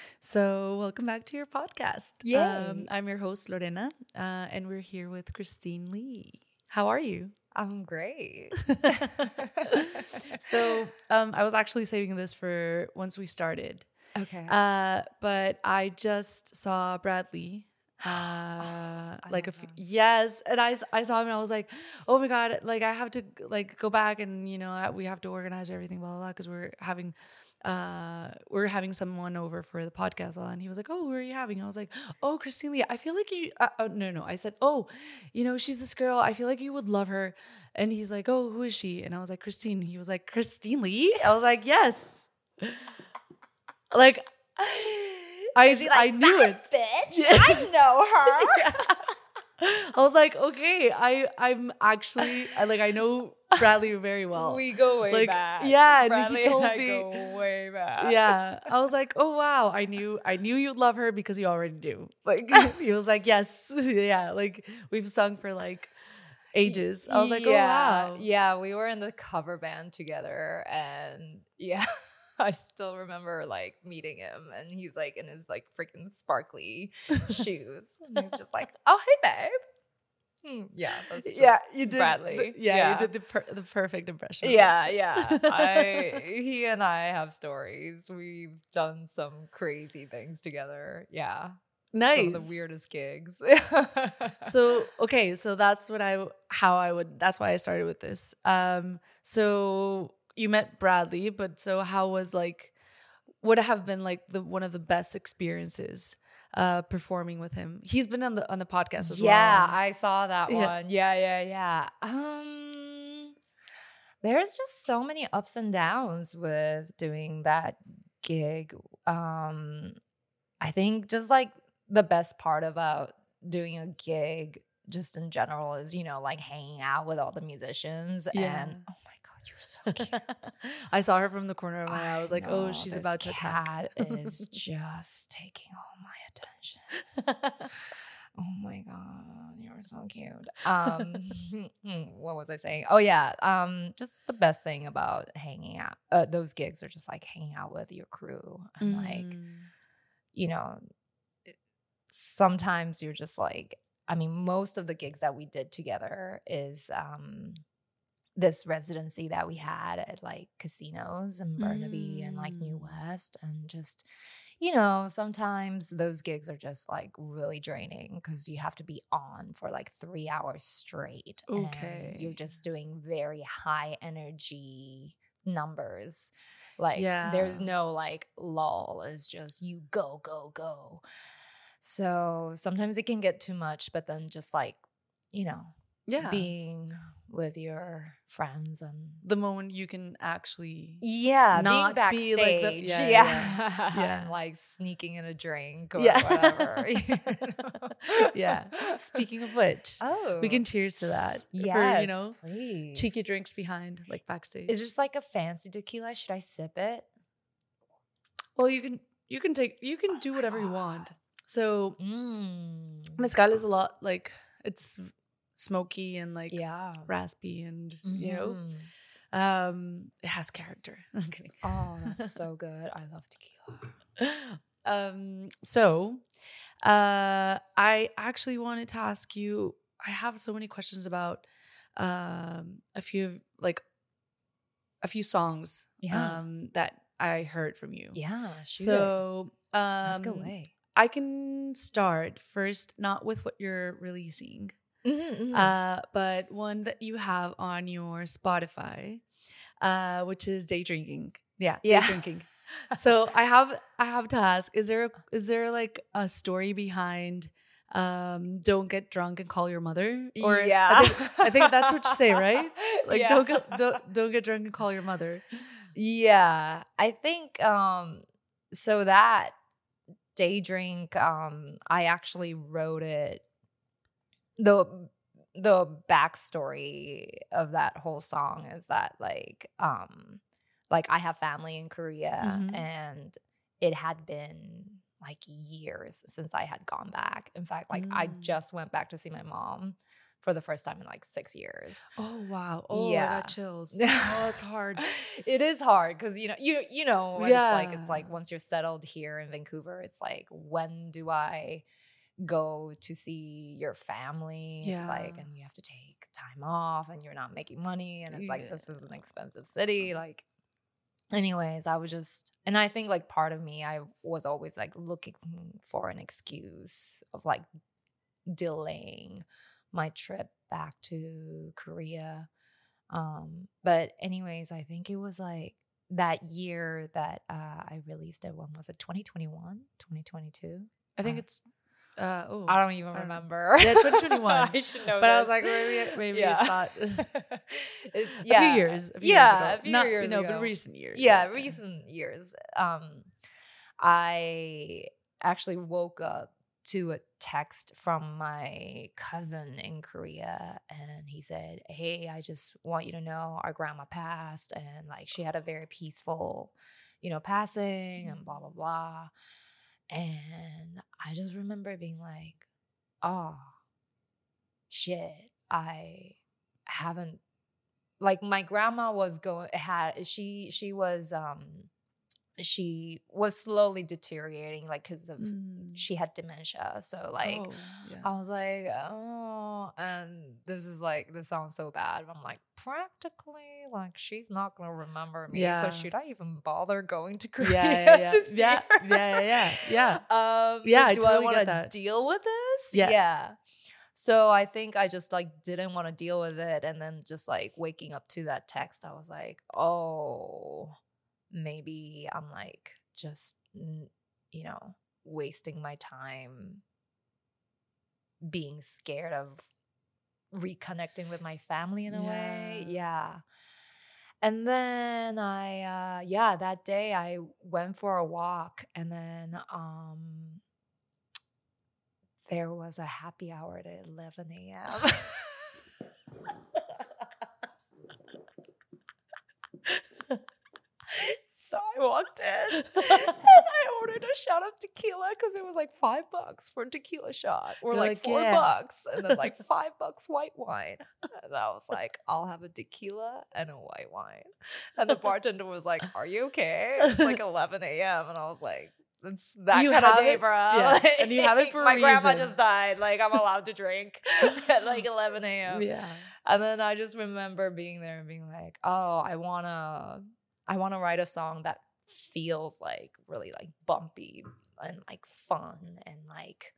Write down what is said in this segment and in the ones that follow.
So, welcome back to your podcast. Yay. I'm your host, Lorena, and we're here with Christine Lee. How are you? I'm great. I was actually saving this for once we started, Okay. but I just saw Bradley. Like a love few, him. yes, and I saw him and I was like, oh my god, like I have to like go back and we have to organize everything, blah blah blah, because we're having someone over for the podcast, and he was like, oh, who are you having? I was like, oh, Christine Lee. I feel like you no, I said, oh, she's this girl, I feel like you would love her. And he's like, oh, who is she? And I was like, Christine. He was like, Christine Lee? I was like, yes. Like Is he like, I knew "That it. bitch? I know her." I was like, okay, I'm actually I know Bradley very well. We go way Like, back. yeah, and Bradley he told and I me, go way back. yeah. I was like, oh wow, I knew you'd love her because you already do. Like he was like, yes, yeah. Like we've sung for like ages. I was like, oh wow. Yeah, we were in the cover band together, and yeah. I still remember like meeting him, and he's like in his like freaking sparkly shoes, and he's just like, "Oh, hey, babe." Yeah, that's just You did. Bradley. You did the perfect impression. Yeah. He and I have stories. We've done some crazy things together. Yeah. Nice. Some of the weirdest gigs. So okay, so that's that's why I started with this. So you met Bradley, but so how was would have been like one of the best experiences performing with him? He's been on the podcast as well. Yeah, I saw that Yeah. one. Yeah. There's just so many ups and downs with doing that gig. I think just like the best part about doing a gig just in general is, like hanging out with all the musicians. Yeah. And oh my God, you're so cute. I saw her from the corner of my eye. I was like, oh, know, she's this about to attack. cat is just taking all my attention. Oh my God, you're so cute. What was I saying? Oh yeah. Just the best thing about hanging out, those gigs are just like hanging out with your crew and sometimes you're just like, I mean, most of the gigs that we did together is this residency that we had at like casinos in Burnaby and like New West, and just, sometimes those gigs are just like really draining because you have to be on for like 3 hours straight. Okay. And you're just doing very high energy numbers. Like Yeah. there's no like lull. It's just you go, go, go. So sometimes it can get too much, but then just like, being with your friends and the moment you can actually not not being be like backstage, the- yeah. And like sneaking in a drink or whatever. Yeah. Speaking of which, Oh, we can cheers to that. yes, For, please. cheeky drinks behind, like backstage. Is this like a fancy tequila? Should I sip it? Well, you can do whatever you want. So mezcal is a lot like it's smoky and like raspy and it has character. I'm kidding. Oh, that's so good. I love tequila. So I actually wanted to ask you, I have so many questions about a few songs that I heard from you. Yeah. So let's go away. I can start first, not with what you're releasing, but one that you have on your Spotify, which is Day Drinking. Yeah, Day Drinking. So I have to ask, is there like a story behind don't get drunk and call your mother? Or I think that's what you say, right? Like don't get drunk and call your mother. Yeah. I think so that Day Drink, I actually wrote it. The backstory of that whole song is that like I have family in Korea, and it had been like years since I had gone back. In fact, like I just went back to see my mom for the first time in like 6 years. Oh wow. Oh, I Yeah. got chills. Oh, it's hard. It is hard because you know Yeah. it's like once you're settled here in Vancouver, it's like, when do I go to see your family? It's like, Yeah. and you have to take time off and you're not making money, and it's like, this is an Yeah. expensive city. Like, anyways, and I think like part of me, I was always like looking for an excuse of like delaying my trip back to Korea. But anyways, I think it was like that year that I released it. When was it? 2021, 2022? I think it's I don't even I don't- remember. Yeah, 2021. I should know But I this. was like, maybe Yeah. it's not It's- a few years ago. a few Not, years ago. but recent years. Yeah, recent years. I actually woke up to a text from my cousin in Korea, and he said, "Hey, I just want you to know our grandma passed, and like she had a very peaceful, passing, and blah blah blah." And I just remember being like, "Oh shit, I haven't." Like, my grandma was she was slowly deteriorating, like, because of she had dementia. So like, Oh, yeah. I was like, oh, and this sounds so bad. But I'm like, practically, like, she's not gonna remember me. Yeah. So should I even bother going to Korea Yeah. to see Yeah. her? Yeah. Yeah, I do totally I want get to that. deal with this? Yeah. So I think I just like didn't want to deal with it, and then just like waking up to that text, I was like, oh, maybe I'm like just wasting my time being scared of reconnecting with my family in a way. Yeah. And then that day I went for a walk, and then there was a happy hour at 11 a.m. So I walked in and I ordered a shot of tequila because it was like $5 for a tequila shot, or You're like like, yeah. $4, and then like $5 white wine. And I was like, I'll have a tequila and a white wine. And the bartender was like, "Are you okay? It's like 11 a.m. And I was like, it's that You kind of have day, it- bro. yeah, and you have it for a my grandma reason. just died. Like, I'm allowed to drink at like 11 a.m. Yeah. And then I just remember being there and being like, oh, I wanna write a song that feels like really like bumpy and like fun and like,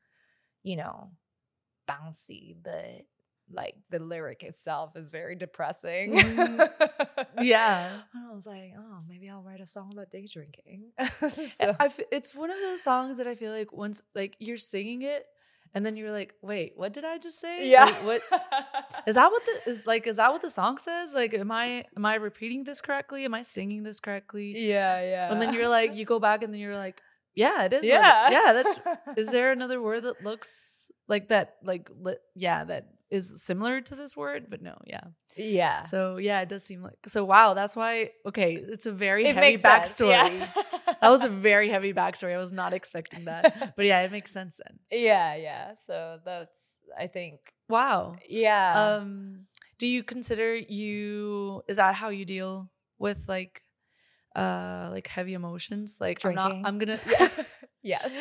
bouncy, but like the lyric itself is very depressing. Yeah. And I was like, oh, maybe I'll write a song about day drinking. It's one of those songs that I feel like once like you're singing it and then you're like, wait, what did I just say? Yeah. Like, what is that what the song says? Like, am I repeating this correctly? Am I singing this correctly? Yeah. And then you're like, you go back and then you're like, yeah, it is. Yeah. That's, is there another word that looks like that? Like, that is similar to this word, but no. Yeah. Yeah. So yeah, it does seem like, so wow. That's why, okay. It's a very It heavy makes sense, backstory. yeah. That was a very heavy backstory. I was not expecting that, but yeah, it makes sense then. Yeah. So that's, I think, Wow. yeah. Do you consider is that how you deal with like heavy emotions? Like Drinking. I'm gonna, Yes.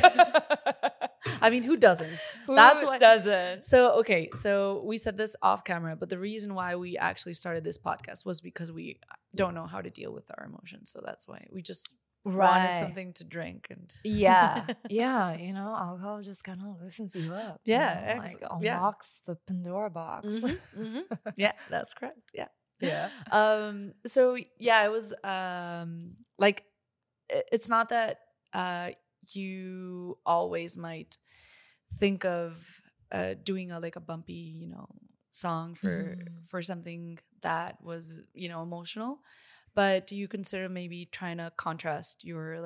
I mean, who doesn't? Who That's why doesn't? So, okay. So we said this off camera, but the reason why we actually started this podcast was because we don't know how to deal with our emotions. So that's why we just wanted something to drink and Yeah. Alcohol just kind of loosens you up. Yeah, like yeah. unlocks the Pandora box. Yeah, that's correct. Yeah. Yeah. So yeah, it was like it's not that you always might think of doing a bumpy, song for something that was, emotional, but do you consider maybe trying to contrast your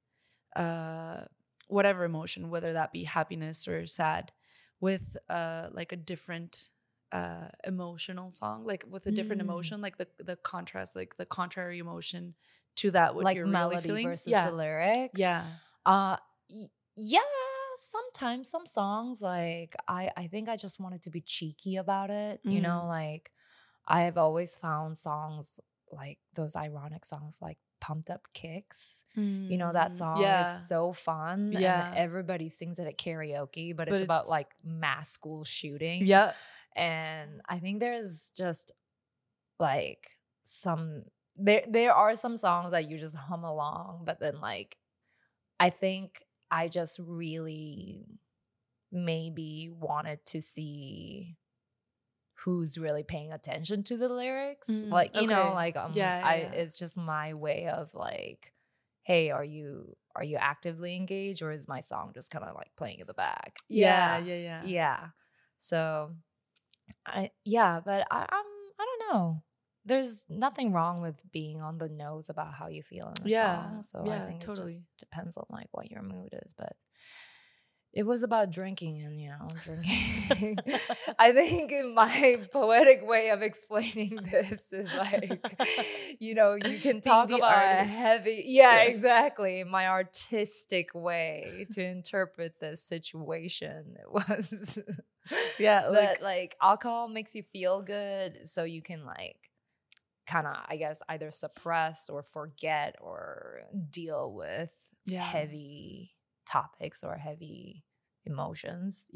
whatever emotion, whether that be happiness or sad, with a different emotional song, like with a different emotion, like the contrast, like the contrary emotion to that, what Like you're melody really feeling versus the lyrics. Yeah. Yeah, sometimes some songs like I think I just wanted to be cheeky about it. You know, like I have always found songs like those ironic songs like Pumped Up Kicks. You know, that song is so fun and everybody sings it at karaoke, but it's about like mass school shooting. Yeah. And I think there's just like there are some songs that you just hum along, but then like I think I just really maybe wanted to see who's really paying attention to the lyrics. Like, you know, like it's just my way of like, hey, are you actively engaged, or is my song just kind of like playing in the back? Yeah. So but I don't know. There's nothing wrong with being on the nose about how you feel in a song. So I think it just depends on like what your mood is. But it was about drinking and, you know, drinking. I think my poetic way of explaining this is like, you know, you can talk about a heavy. Yeah, exactly. My artistic way to interpret this situation was that like alcohol makes you feel good. So you can like kind of, I guess, either suppress or forget or deal with heavy topics or heavy emotions.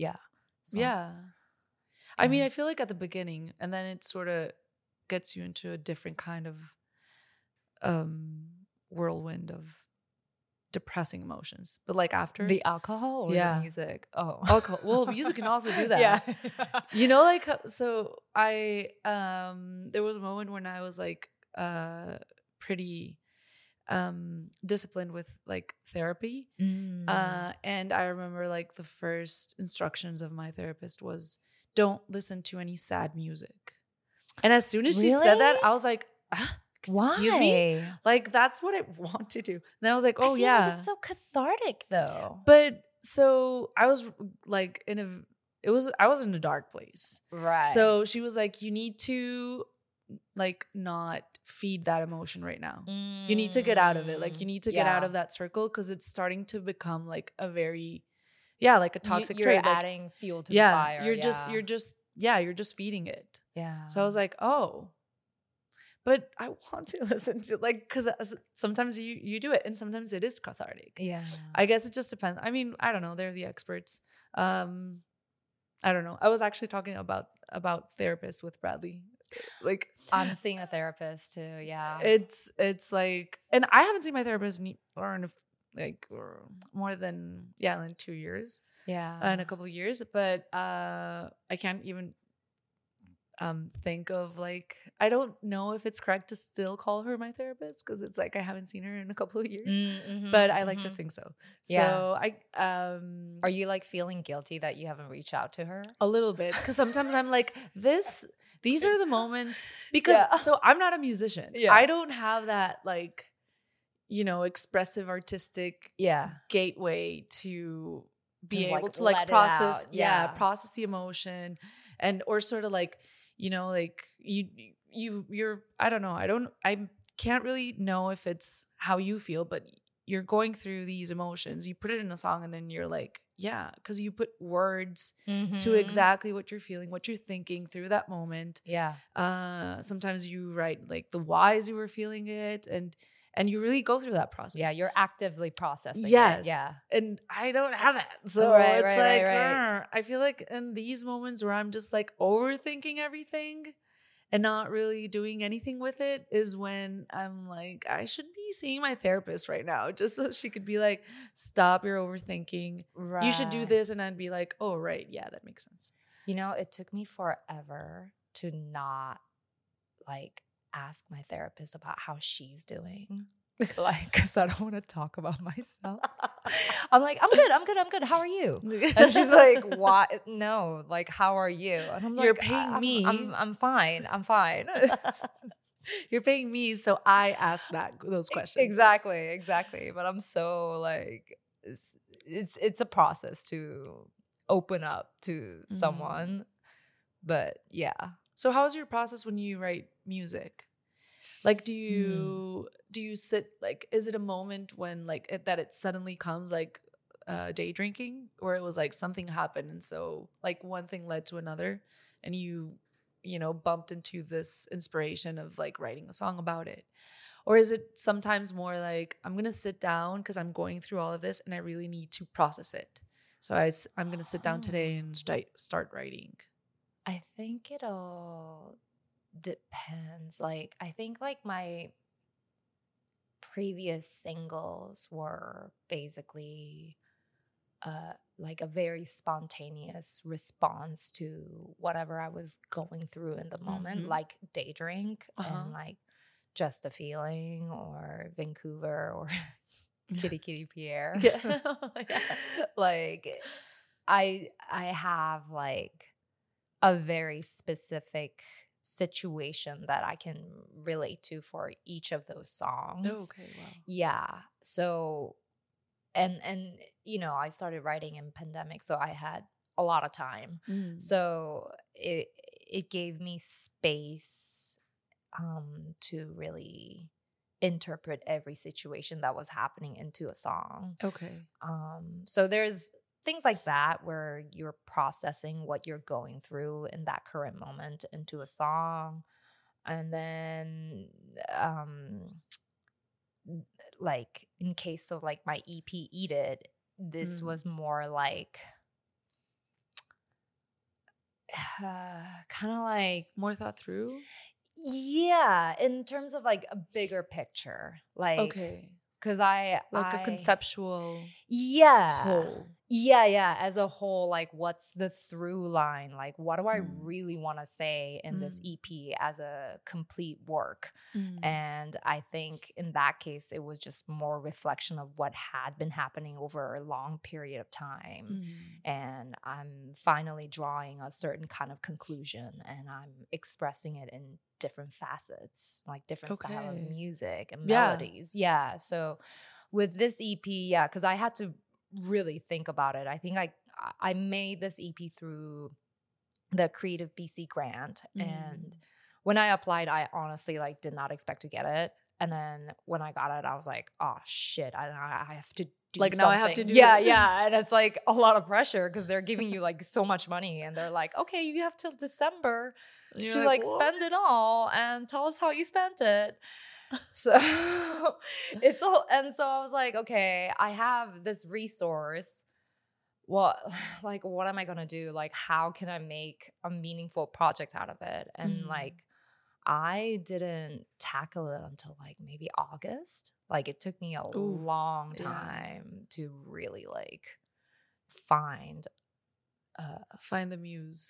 I mean, I feel like at the beginning, and then it sort of gets you into a different kind of whirlwind of depressing emotions. But like after the alcohol or the music? Oh, alcohol. Well, music can also do that. You know, like, so I there was a moment when I was like pretty disciplined with like therapy. And I remember like the first instructions of my therapist was, don't listen to any sad music. And as soon as she said that, I was like, excuse me? Like, that's what I want to do. And then I was like, oh, like it's so cathartic though. But so I was like I was in a dark place. Right. So she was like, you need to like not feed that emotion right now. You need to get out of it. Like you need to get out of that circle, because it's starting to become like a very like a toxic you're trait. adding like, fuel to the fire. You're just feeding it. Yeah. So I was like, oh, but I want to listen to like, because sometimes you do it and sometimes it is cathartic. Yeah. I guess it just depends. I mean, I don't know. They're the experts. I don't know. I was actually talking about therapists with Bradley. Like I'm seeing a therapist too. Yeah. It's like, and I haven't seen my therapist in more than 2 years. Yeah. In a couple of years, but I can't even think of like, I don't know if it's correct to still call her my therapist, because it's like I haven't seen her in a couple of years, but I like to think so. So I are you like feeling guilty that you haven't reached out to her? A little bit, because sometimes I'm like, these are the moments, because so I'm not a musician. I don't have that like, you know, expressive artistic gateway to be just able to like process process the emotion, and or sort of like, you know, like you're I don't know, I can't really know if it's how you feel, but you're going through these emotions, you put it in a song, and then you're like, because you put words to exactly what you're feeling, what you're thinking through that moment. Sometimes you write like the whys you were feeling it, and you really go through that process. Yeah, you're actively processing it. Yeah. And I don't have that. So I feel like in these moments where I'm just like overthinking everything and not really doing anything with it is when I'm like, I should be seeing my therapist right now, just so she could be like, stop your overthinking. Right. You should do this. And I'd be like, oh, right. Yeah, that makes sense. You know, it took me forever to not like ask my therapist about how she's doing. Like, because I don't want to talk about myself. I'm like, I'm good. How are you? And she's like, why? No, like, how are you? And I'm like, you're paying me. I'm fine. You're paying me, so I ask those questions. Exactly. But I'm so like, it's a process to open up to someone. But yeah. So how is your process when you write music? Like, do you sit, like, is it a moment when like that it suddenly comes like day drinking, where it was like something happened, and so like one thing led to another, and you know, bumped into this inspiration of like writing a song about it? Or is it sometimes more like, I'm going to sit down because I'm going through all of this and I really need to process it. So I'm going to sit down today and start writing. I think it all depends. Like, I think like my previous singles were basically like a very spontaneous response to whatever I was going through in the moment, like Day Drink and like Just a Feeling or Vancouver or Kitty Kitty Pierre. Yeah. Like I have like a very specific situation that I can relate to for each of those songs. Oh, okay, wow. Yeah. So and you know, I started writing in pandemic, so I had a lot of time. So it gave me space to really interpret every situation that was happening into a song. Okay. So there's things like that where you're processing what you're going through in that current moment into a song. And then like in case of like my EP Eat It, this was more like kind of like more thought through. Yeah, in terms of like a bigger picture, like Okay, because a conceptual whole. Yeah, as a whole, like what's the through line? Like what do I really want to say in this EP as a complete work? And I think in that case, it was just more reflection of what had been happening over a long period of time. And I'm finally drawing a certain kind of conclusion, and I'm expressing it in different facets, like different style of music and melodies. Yeah. So with this EP, because I had to really think about it. I think I made this EP through the Creative BC grant, and when I applied, I honestly like did not expect to get it. And then when I got it, I was like, oh shit, I have to do like something. Now I have to do yeah, and it's like a lot of pressure because they're giving you like so much money, and they're like, okay, you have till December to like spend it all, and tell us how you spent it. So it's all, and so I was like, okay, I have this resource. What am I gonna do? Like, how can I make a meaningful project out of it? And like, I didn't tackle it until like maybe August. Like, it took me a long time to really like find the muse.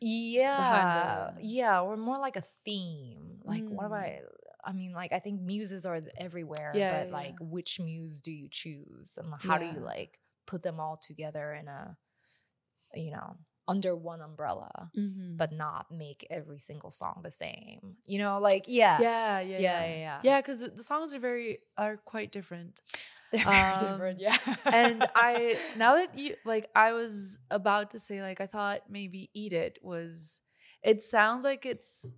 Yeah, or more like a theme. Like, what am I mean, like, I think muses are everywhere, but like, which muse do you choose? And how do you like put them all together in a, you know, under one umbrella, but not make every single song the same? You know, like, yeah. Because the songs are quite different. They're very different, yeah. And now that you, like, I was about to say, like, I thought maybe Eat It was, it sounds like it's,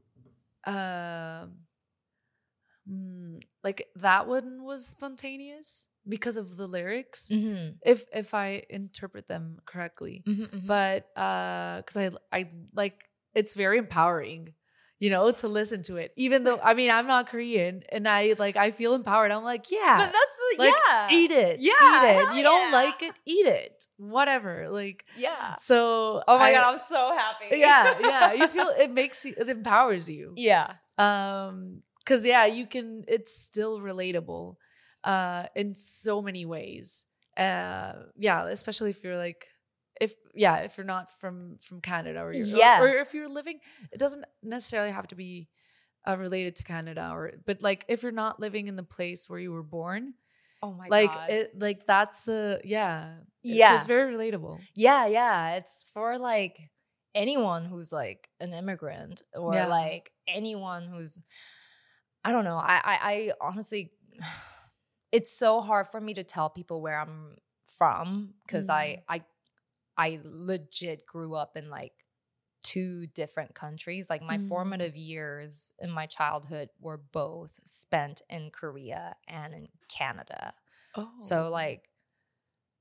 like that one was spontaneous because of the lyrics, if I interpret them correctly. But because I like, it's very empowering, you know, to listen to it. Even though, I mean, I'm not Korean, and I feel empowered. I'm like, yeah, but that's like, eat it, eat it. You don't like it, eat it, whatever. Like, So, oh my god, I'm so happy. You feel it empowers you. Because you can. It's still relatable, in so many ways. Especially if you're like, if you're not from Canada, or if you're living, it doesn't necessarily have to be related to Canada, but like if you're not living in the place where you were born. Oh my god. That's the so it's very relatable. It's for like anyone who's like an immigrant, or like anyone who's, I don't know. I honestly, it's so hard for me to tell people where I'm from, because I legit grew up in like 2 different countries. Like, my formative years in my childhood were both spent in Korea and in Canada. So like,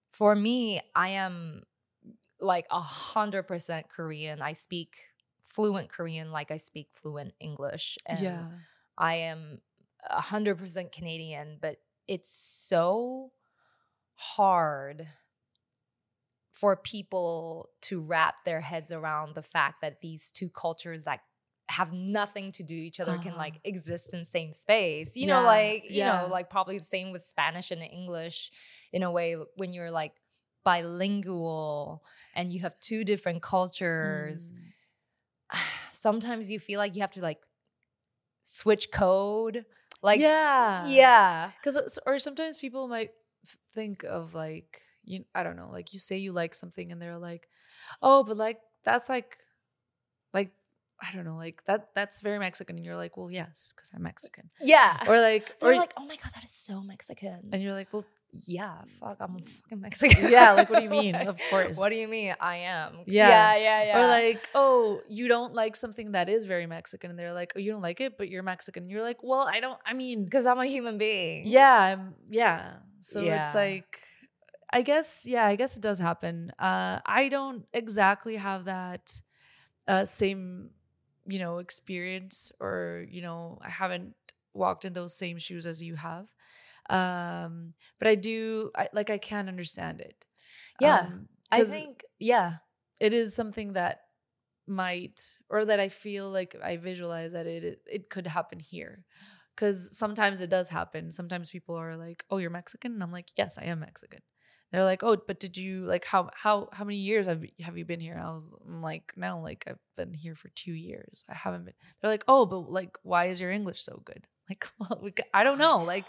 For me, I am like 100% Korean. I speak fluent Korean like I speak fluent English. And I am 100% Canadian, but it's so hard for people to wrap their heads around the fact that these two cultures that have nothing to do each other can like exist in the same space. You know, like, you know, like probably the same with Spanish and English in a way when you're like bilingual and you have two different cultures. Sometimes you feel like you have to like switch code. Like, yeah. Because, or sometimes people might think of like, I don't know, like you say you like something and they're like, oh, but like, that's like, I don't know, like that's very Mexican. And you're like, well, yes, because I'm Mexican. Yeah. Or like, they're like, oh my God, that is so Mexican. And you're like, well, yeah, fuck, I'm fucking Mexican. Yeah, like, what do you mean? Like, of course. What do you mean? I am. Yeah. Or like, oh, you don't like something that is very Mexican. And they're like, oh, you don't like it, but you're Mexican. And you're like, well, I mean. Because I'm a human being. Yeah. So it's like, I guess it does happen. I don't exactly have that same, experience, or, I haven't walked in those same shoes as you have. But I can understand it. Yeah. I think, it is something that might, or that I feel like I visualize that it could happen here. Because sometimes it does happen. Sometimes people are like, oh, you're Mexican? And I'm like, yes, I am Mexican. They're like, oh, but did you like how many years have you been here? I'm like, no, like I've been here for 2 years. I haven't been. They're like, oh, but like, why is your English so good? Like, well, I don't know. Like,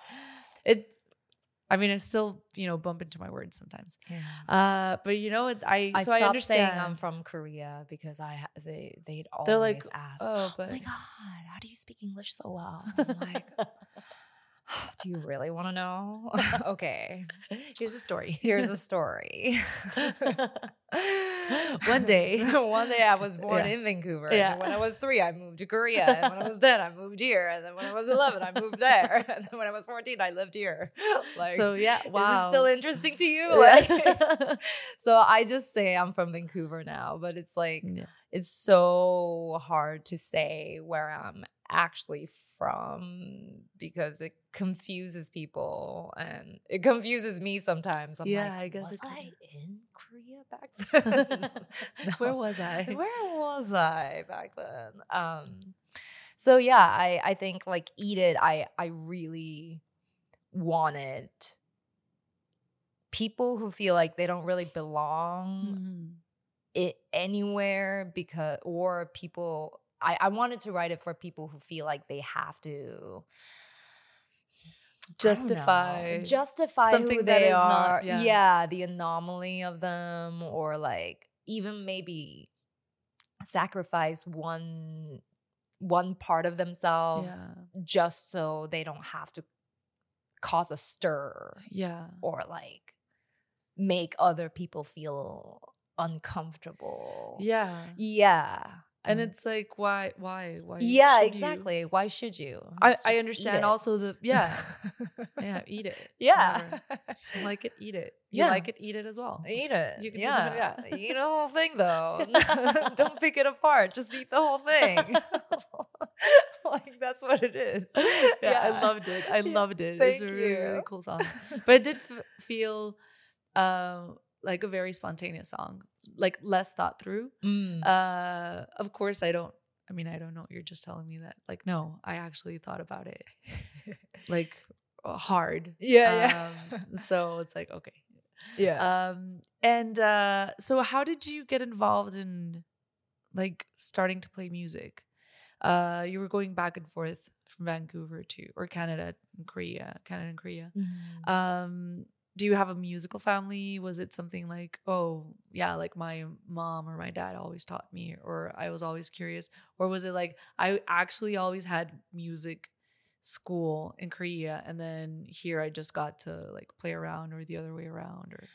I still, bump into my words sometimes. Yeah. But I stopped understand. saying I'm from Korea because they'd always They're like, ask, oh my God, how do you speak English so well? And I'm like, do you really want to know? Okay. Here's a story. One day I was born in Vancouver. Yeah. And when I was 3, I moved to Korea. And when I was 10, I moved here. And then when I was 11, I moved there. And then when I was 14, I lived here. Like, so yeah, wow. Is this still interesting to you? Like, so I just say I'm from Vancouver now, but it's like, it's so hard to say where I'm actually from because it confuses people and it confuses me sometimes. I'm like, I guess was I in Korea back then? No. Where was I back then? So yeah, I think like Eat It, I really wanted people who feel like they don't really belong anywhere or people. I wanted to write it for people who feel like they have to justify something who they are. The anomaly of them, or like even maybe sacrifice one part of themselves just so they don't have to cause a stir. Or like make other people feel uncomfortable. And it's like, why? Exactly. Why should you? I understand also eat it. Yeah. You like it, eat it. You like it, eat it as well. Eat it. You can eat the whole thing though. Don't pick it apart. Just eat the whole thing. Like that's what it is. I loved it. Thank it's a you. really, really cool song. But it did feel like a very spontaneous song, like less thought through. Of course, I don't know. You're just telling me that. Like, no, I actually thought about it, like hard. So it's like, okay. So how did you get involved in like starting to play music? You were going back and forth from Vancouver or Canada and Korea. Do you have a musical family? Was it something like, oh, yeah, like my mom or my dad always taught me, or I was always curious? Or was it like, I actually always had music school in Korea, and then here I just got to like play around, or the other way around? Or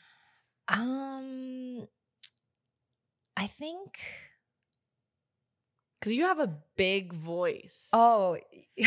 I think... because you have a big voice. Oh.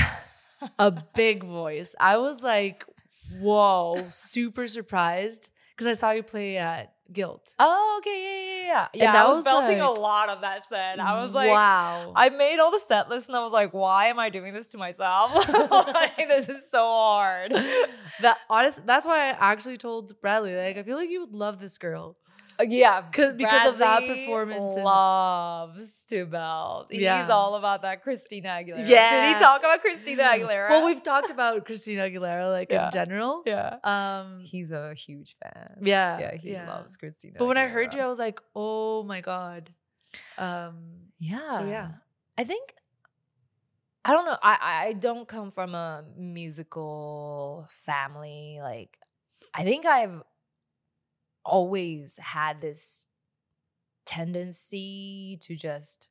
A big voice. I was like... whoa, super surprised, because I saw you play at Guild. Oh, okay, yeah. And I was belting a lot of that set. I was like, wow. I made all the set lists and I was like, why am I doing this to myself? Like, this is so hard. That's why I actually told Bradley, like, I feel like you would love this girl. Yeah, because of that performance. Loves to belt. Yeah. He's all about that Christina Aguilera. Yeah. Did he talk about Christina Aguilera? Well, we've talked about Christina Aguilera, like, in general. Yeah. He's a huge fan. Yeah. Yeah, he loves Christina But when Aguilera. I heard you, I was like, oh my God. Yeah. So, yeah. I think, I don't know. I don't come from a musical family. Like, I think I've always had this tendency to just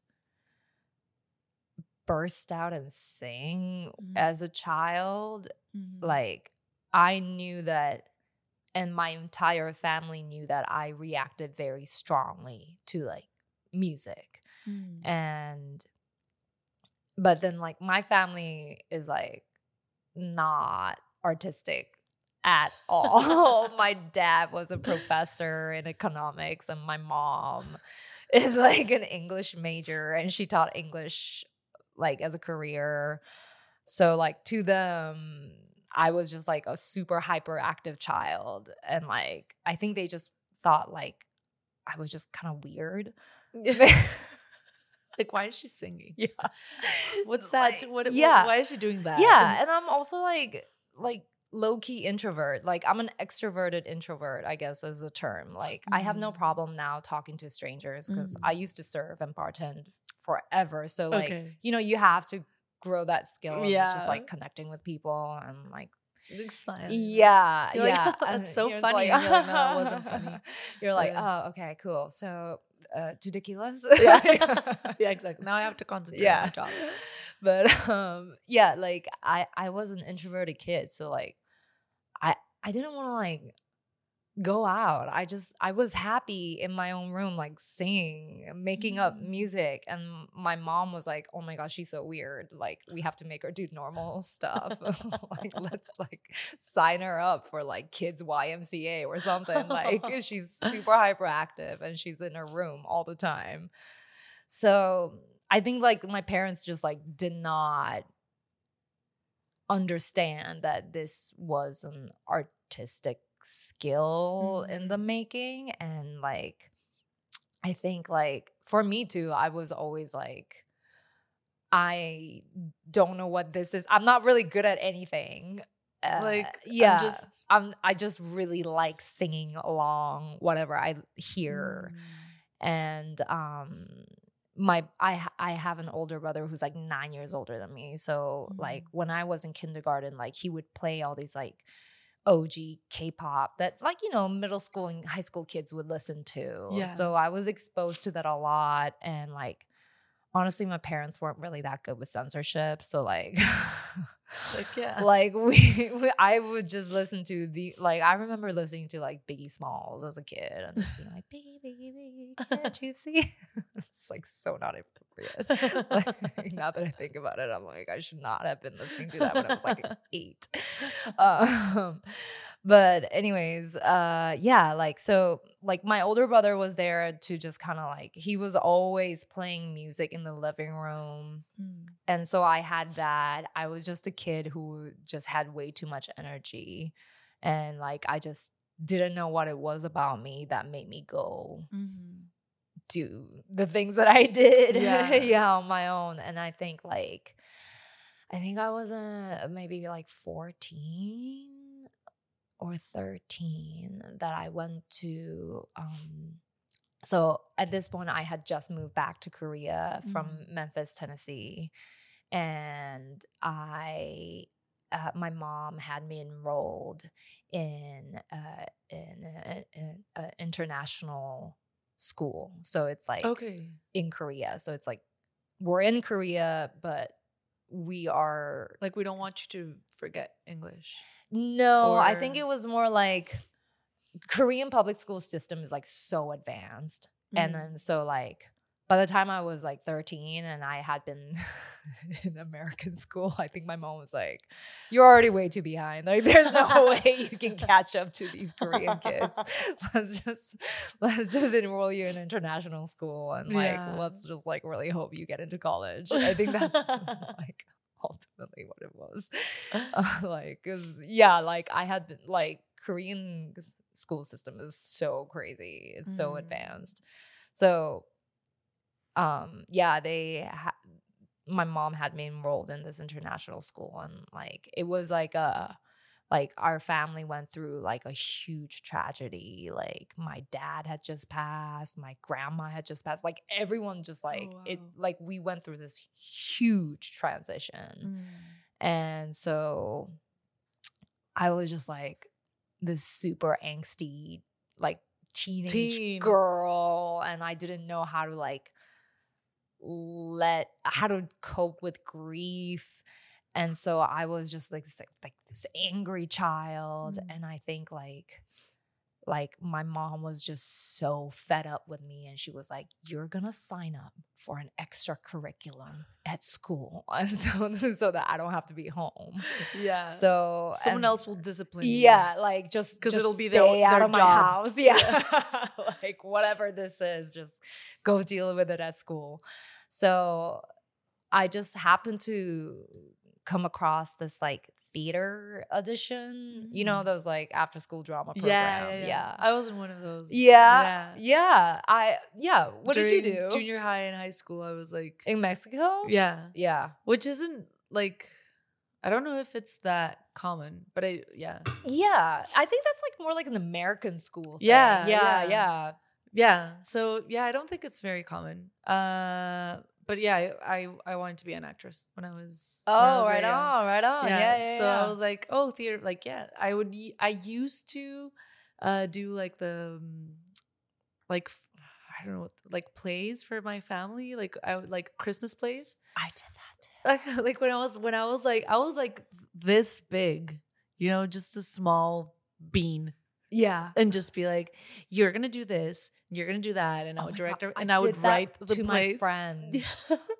burst out and sing as a child. Like, I knew that, and my entire family knew that I reacted very strongly to like music. But then like my family is like not artistic at all. My dad was a professor in economics and my mom is like an English major and she taught English like as a career. So like to them, I was just like a super hyperactive child. And like, I think they just thought like I was just kind of weird. Like, why is she singing? Yeah. What's that? Like, why is she doing that? Yeah. And I'm also like low-key introvert. Like, I'm an extroverted introvert, I guess is the term. Like, I have no problem now talking to strangers because I used to serve and bartend forever. So like, you know, you have to grow that skill of just like connecting with people and like smiling. Yeah. You're yeah. like, oh, that's so funny. Like, You're like, no, it wasn't funny. You're like, oh, okay, cool. So 2 tequilas. Yeah, exactly. Now I have to concentrate on my job. But yeah, like I was an introverted kid, so like I didn't want to like go out. I was happy in my own room, like singing, making up music. And my mom was like, oh my gosh, she's so weird. Like, we have to make her do normal stuff. Like, let's like sign her up for like kids YMCA or something. Like, she's super hyperactive and she's in her room all the time. So I think like my parents just like did not understand that this was an artistic skill in the making. And like I think like for me too, I was always like, I don't know what this is. I'm not really good at anything. I just really like singing along whatever I hear. And I have an older brother who's like 9 years older than me. So like when I was in kindergarten, like he would play all these like OG K-pop that like, you know, middle school and high school kids would listen to. Yeah. So I was exposed to that a lot. And like, honestly, my parents weren't really that good with censorship. So like, like I would just listen to I remember listening to like Biggie Smalls as a kid and just being like, Biggie, can't you see? It's like so not appropriate. Like, now that I think about it, I'm like, I should not have been listening to that when I was like 8. But anyways, yeah, like, so like my older brother was there to just kind of like, he was always playing music in the living room. And so I had that. I was just a kid who just had way too much energy. And like, I just didn't know what it was about me that made me go do the things that I did on my own. And I think I was maybe like 14 or 13 that I went to so at this point I had just moved back to Korea from Memphis, Tennessee, and my mom had me enrolled in an international school. So it's like in Korea. So it's like we're in Korea, but we are like, we don't want you to forget English. No, I think it was more like Korean public school system is like so advanced. And then so like by the time I was like 13 and I had been in American school, I think my mom was like, "You're already way too behind. Like, there's no way you can catch up to these Korean kids. Let's just enroll you in international school and like let's just like really hope you get into college." I think that's like ultimately what it was. Like, cause like I had been like Korean school system is so crazy. It's so advanced. So, my mom had me enrolled in this international school, and like it was like our family went through like a huge tragedy. Like my dad had just passed, my grandma had just passed. Like everyone just like it. Like we went through this huge transition, and so I was just like this super angsty like teenage girl, and I didn't know how to like how to cope with grief. And so I was just like this angry child. And I think like my mom was just so fed up with me, and she was like, "You're gonna sign up for an extra curriculum at school so that I don't have to be home." Yeah. So someone else will discipline you. Yeah, like just because it'll be stay out of my house. Yeah. Like whatever this is, just go deal with it at school. So I just happened to come across this like theater audition, you know, those like after school drama program. Yeah. I was in one of those. What did you do? Junior high and high school, I was like in Mexico. Yeah, which isn't like, I don't know if it's that common, but I think that's like more like an American school thing. Yeah. So I don't think it's very common. But yeah, I wanted to be an actress when I was. Right on. Yeah. So I was like, oh, theater. Like, I used to do like the like I don't know, like plays for my family. Like I would like Christmas plays. I did that too. Like when I was like this big, you know, just a small bean. Yeah. And just be like, you're going to do this, you're going to do that. And I would direct her, and I would write the to plays. My friends.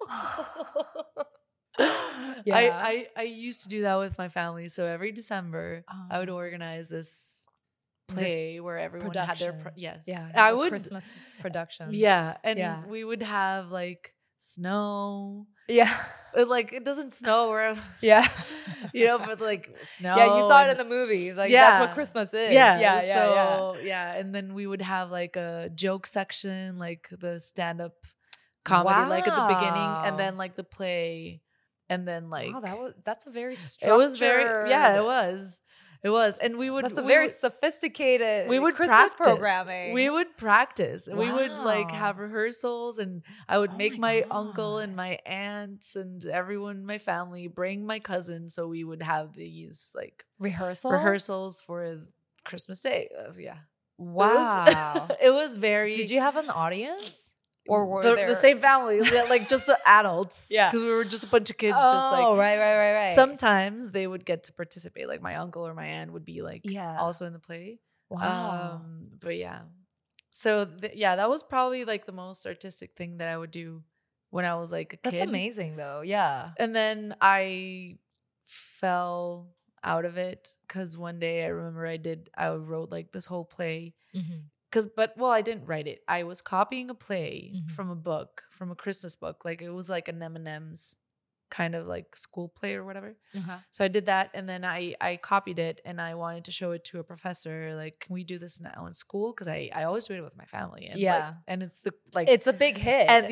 I used to do that with my family. So every December, I would organize this play where everyone production. Had their I would Christmas production. Yeah. And we would have like snow. Yeah. Like it doesn't snow where you know, but like snow. Yeah, you saw it in the movies. Like that's what Christmas is. Yeah. And then we would have like a joke section, like the stand-up comedy, like at the beginning, and then like the play, and then like that's a very structured. It was it was, and we would. That's a very sophisticated. We would Christmas practice. Programming. We would practice. Wow. We would like have rehearsals, and I would make my uncle and my aunts and everyone in my family bring my cousin, so we would have these like rehearsals for Christmas Day. Wow, it was very. Did you have an audience? Or were the same family, like just the adults. Because we were just a bunch of kids. Just like right. Sometimes they would get to participate. Like my uncle or my aunt would be like also in the play. Wow. But yeah. So that was probably like the most artistic thing that I would do when I was like a kid. That's amazing though. Yeah. And then I fell out of it because one day I remember I wrote like this whole play. I didn't write it. I was copying a play from a book, from a Christmas book. Like it was like an M&M's kind of like school play or whatever. So I did that, and then I copied it, and I wanted to show it to a professor. Like, can we do this now in school? Because I always do it with my family. And and it's it's a big hit. And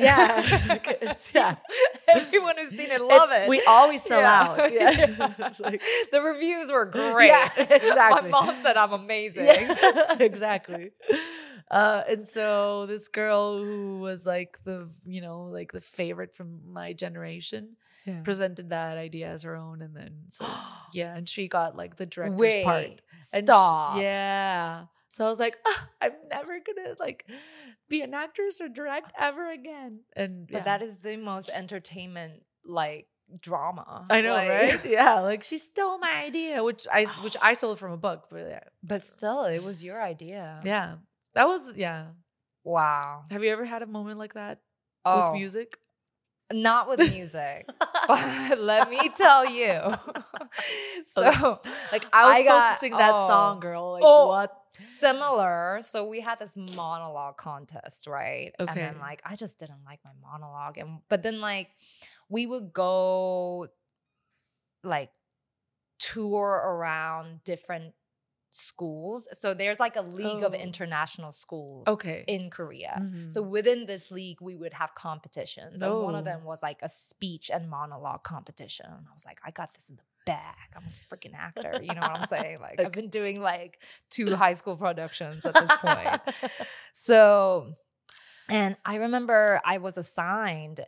everyone who's seen it love it. We always sell out. It's like, the reviews were great. Yeah, exactly. My mom said I'm amazing. Exactly. And so this girl who was like the favorite from my generation presented that idea as her own, and then and she got like the director's part. Stop. So I was like, I'm never gonna like be an actress or direct ever again. But that is the most entertainment like drama. I know, right? Yeah, like she stole my idea, which I stole from a book, but still, it was your idea. Yeah, that was Wow. Have you ever had a moment like that? with music? Not with music, but let me tell you. So, like I was supposed to sing that song, girl. Like what? Similar. So we had this monologue contest, right? Okay. And then like I just didn't like my monologue, but then like we would go like tour around different schools. So there's like a league of international schools in Korea. Mm-hmm. So within this league, we would have competitions. And one of them was like a speech and monologue competition. And I was like, I got this in the bag. I'm a freaking actor. You know what I'm saying? Like I've been doing like 2 high school productions at this point. So, and I remember I was assigned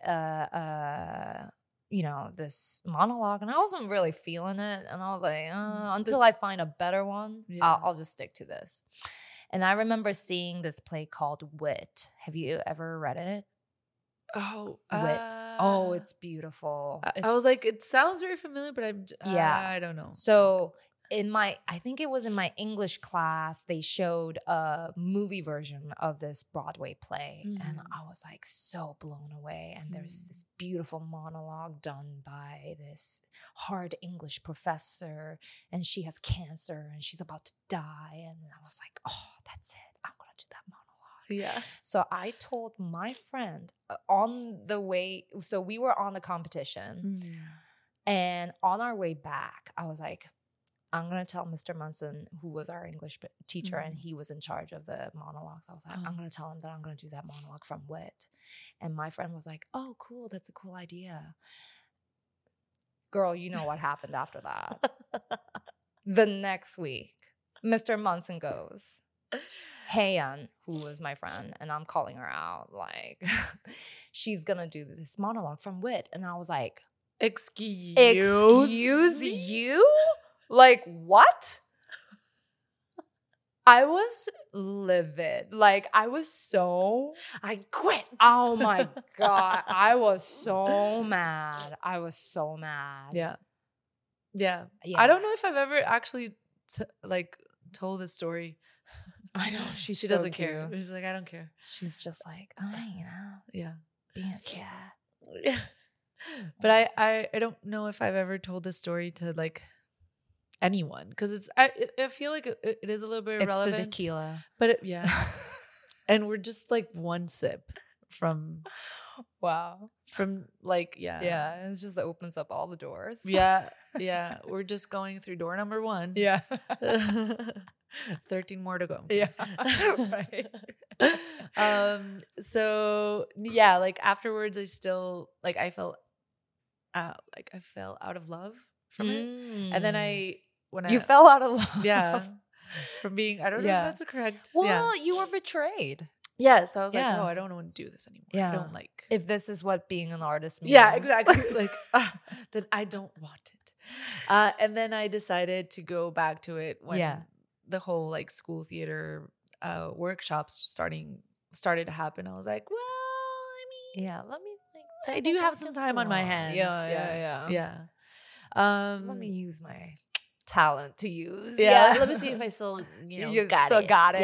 this monologue, and I wasn't really feeling it. And I was like, until I find a better one, I'll just stick to this. And I remember seeing this play called Wit. Have you ever read it? Oh, Wit. It's beautiful. I was like, it sounds very familiar, but I don't know. So I think it was in my English class, they showed a movie version of this Broadway play. Mm-hmm. And I was like so blown away. And there's this beautiful monologue done by this hard English professor. And she has cancer and she's about to die. And I was like, oh, that's it. I'm going to do that monologue. Yeah. So I told my friend on the way. So we were on the competition. Mm-hmm. And on our way back, I was like, I'm going to tell Mr. Munson, who was our English teacher, and he was in charge of the monologues. I was like, I'm going to tell him that I'm going to do that monologue from Wit. And my friend was like, oh, cool. That's a cool idea. Girl, you know what happened after that. The next week, Mr. Munson goes, Haeyeon, who was my friend, and I'm calling her out, like, she's going to do this monologue from Wit. And I was like, Excuse you? Like, what? I was livid. Like, I quit. Oh my God. I was so mad. Yeah. I don't know if I've ever actually told this story. I know. She so doesn't care. She's like, I don't care. She's just like, yeah, being a cat. Yeah. But I don't know if I've ever told this story to like anyone, because I feel like it is a little bit irrelevant. It's the tequila, but and we're just like one sip from like it just opens up all the doors. We're just going through door number 1. 13 more to go. Right. So yeah, like afterwards I still like I felt like I fell out of love from it, and then you fell out of love, from being, I don't know if that's a correct. Well, you were betrayed. Yeah, so I was like, oh, I don't want to do this anymore. I don't like, if this is what being an artist means. Yeah, exactly. Like, then I don't want it. And then I decided to go back to it when the whole like school theater workshops started to happen. I was like, well, I mean, let me I do have some time on my hands. Yeah. Let me use my talent to use. Yeah. Let me see if I still, got it.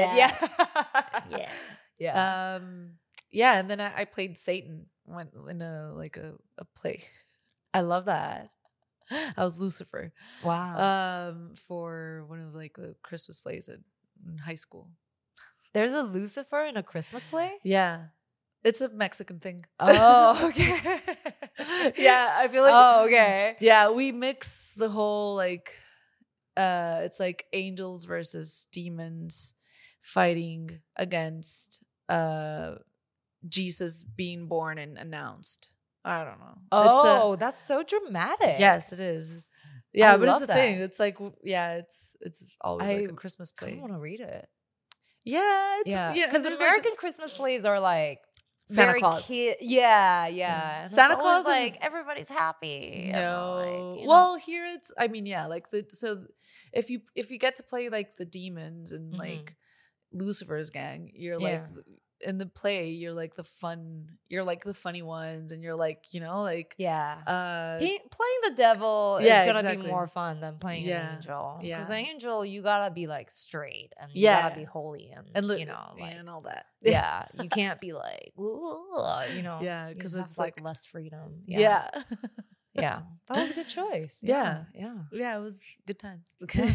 Yeah. And then I played Satan in a play. I love that. I was Lucifer. Wow. For one of like the Christmas plays in high school. There's a Lucifer in a Christmas play? Yeah. It's a Mexican thing. Oh, okay. Yeah, I feel like. Oh, okay. Yeah, we mix the whole like, it's like angels versus demons fighting against Jesus being born and announced. I don't know. Oh, that's so dramatic. Yes, it is. Yeah, but it's a thing. It's like, it's always like a Christmas play. I want to read it. Yeah, because American Christmas plays are like Santa Claus. Yeah. Santa Claus, like everybody's happy. No, well, here it's. I mean, like if you get to play like the demons and like Lucifer's gang, you're like in the play, you're like the funny ones, and you're like, like playing the devil is gonna be more fun than playing an angel. Because an angel, you gotta be like straight, and you gotta be holy, and like and all that. Yeah, you can't be like, because it's like less freedom. Yeah. Yeah, that was a good choice. Yeah, it was good times.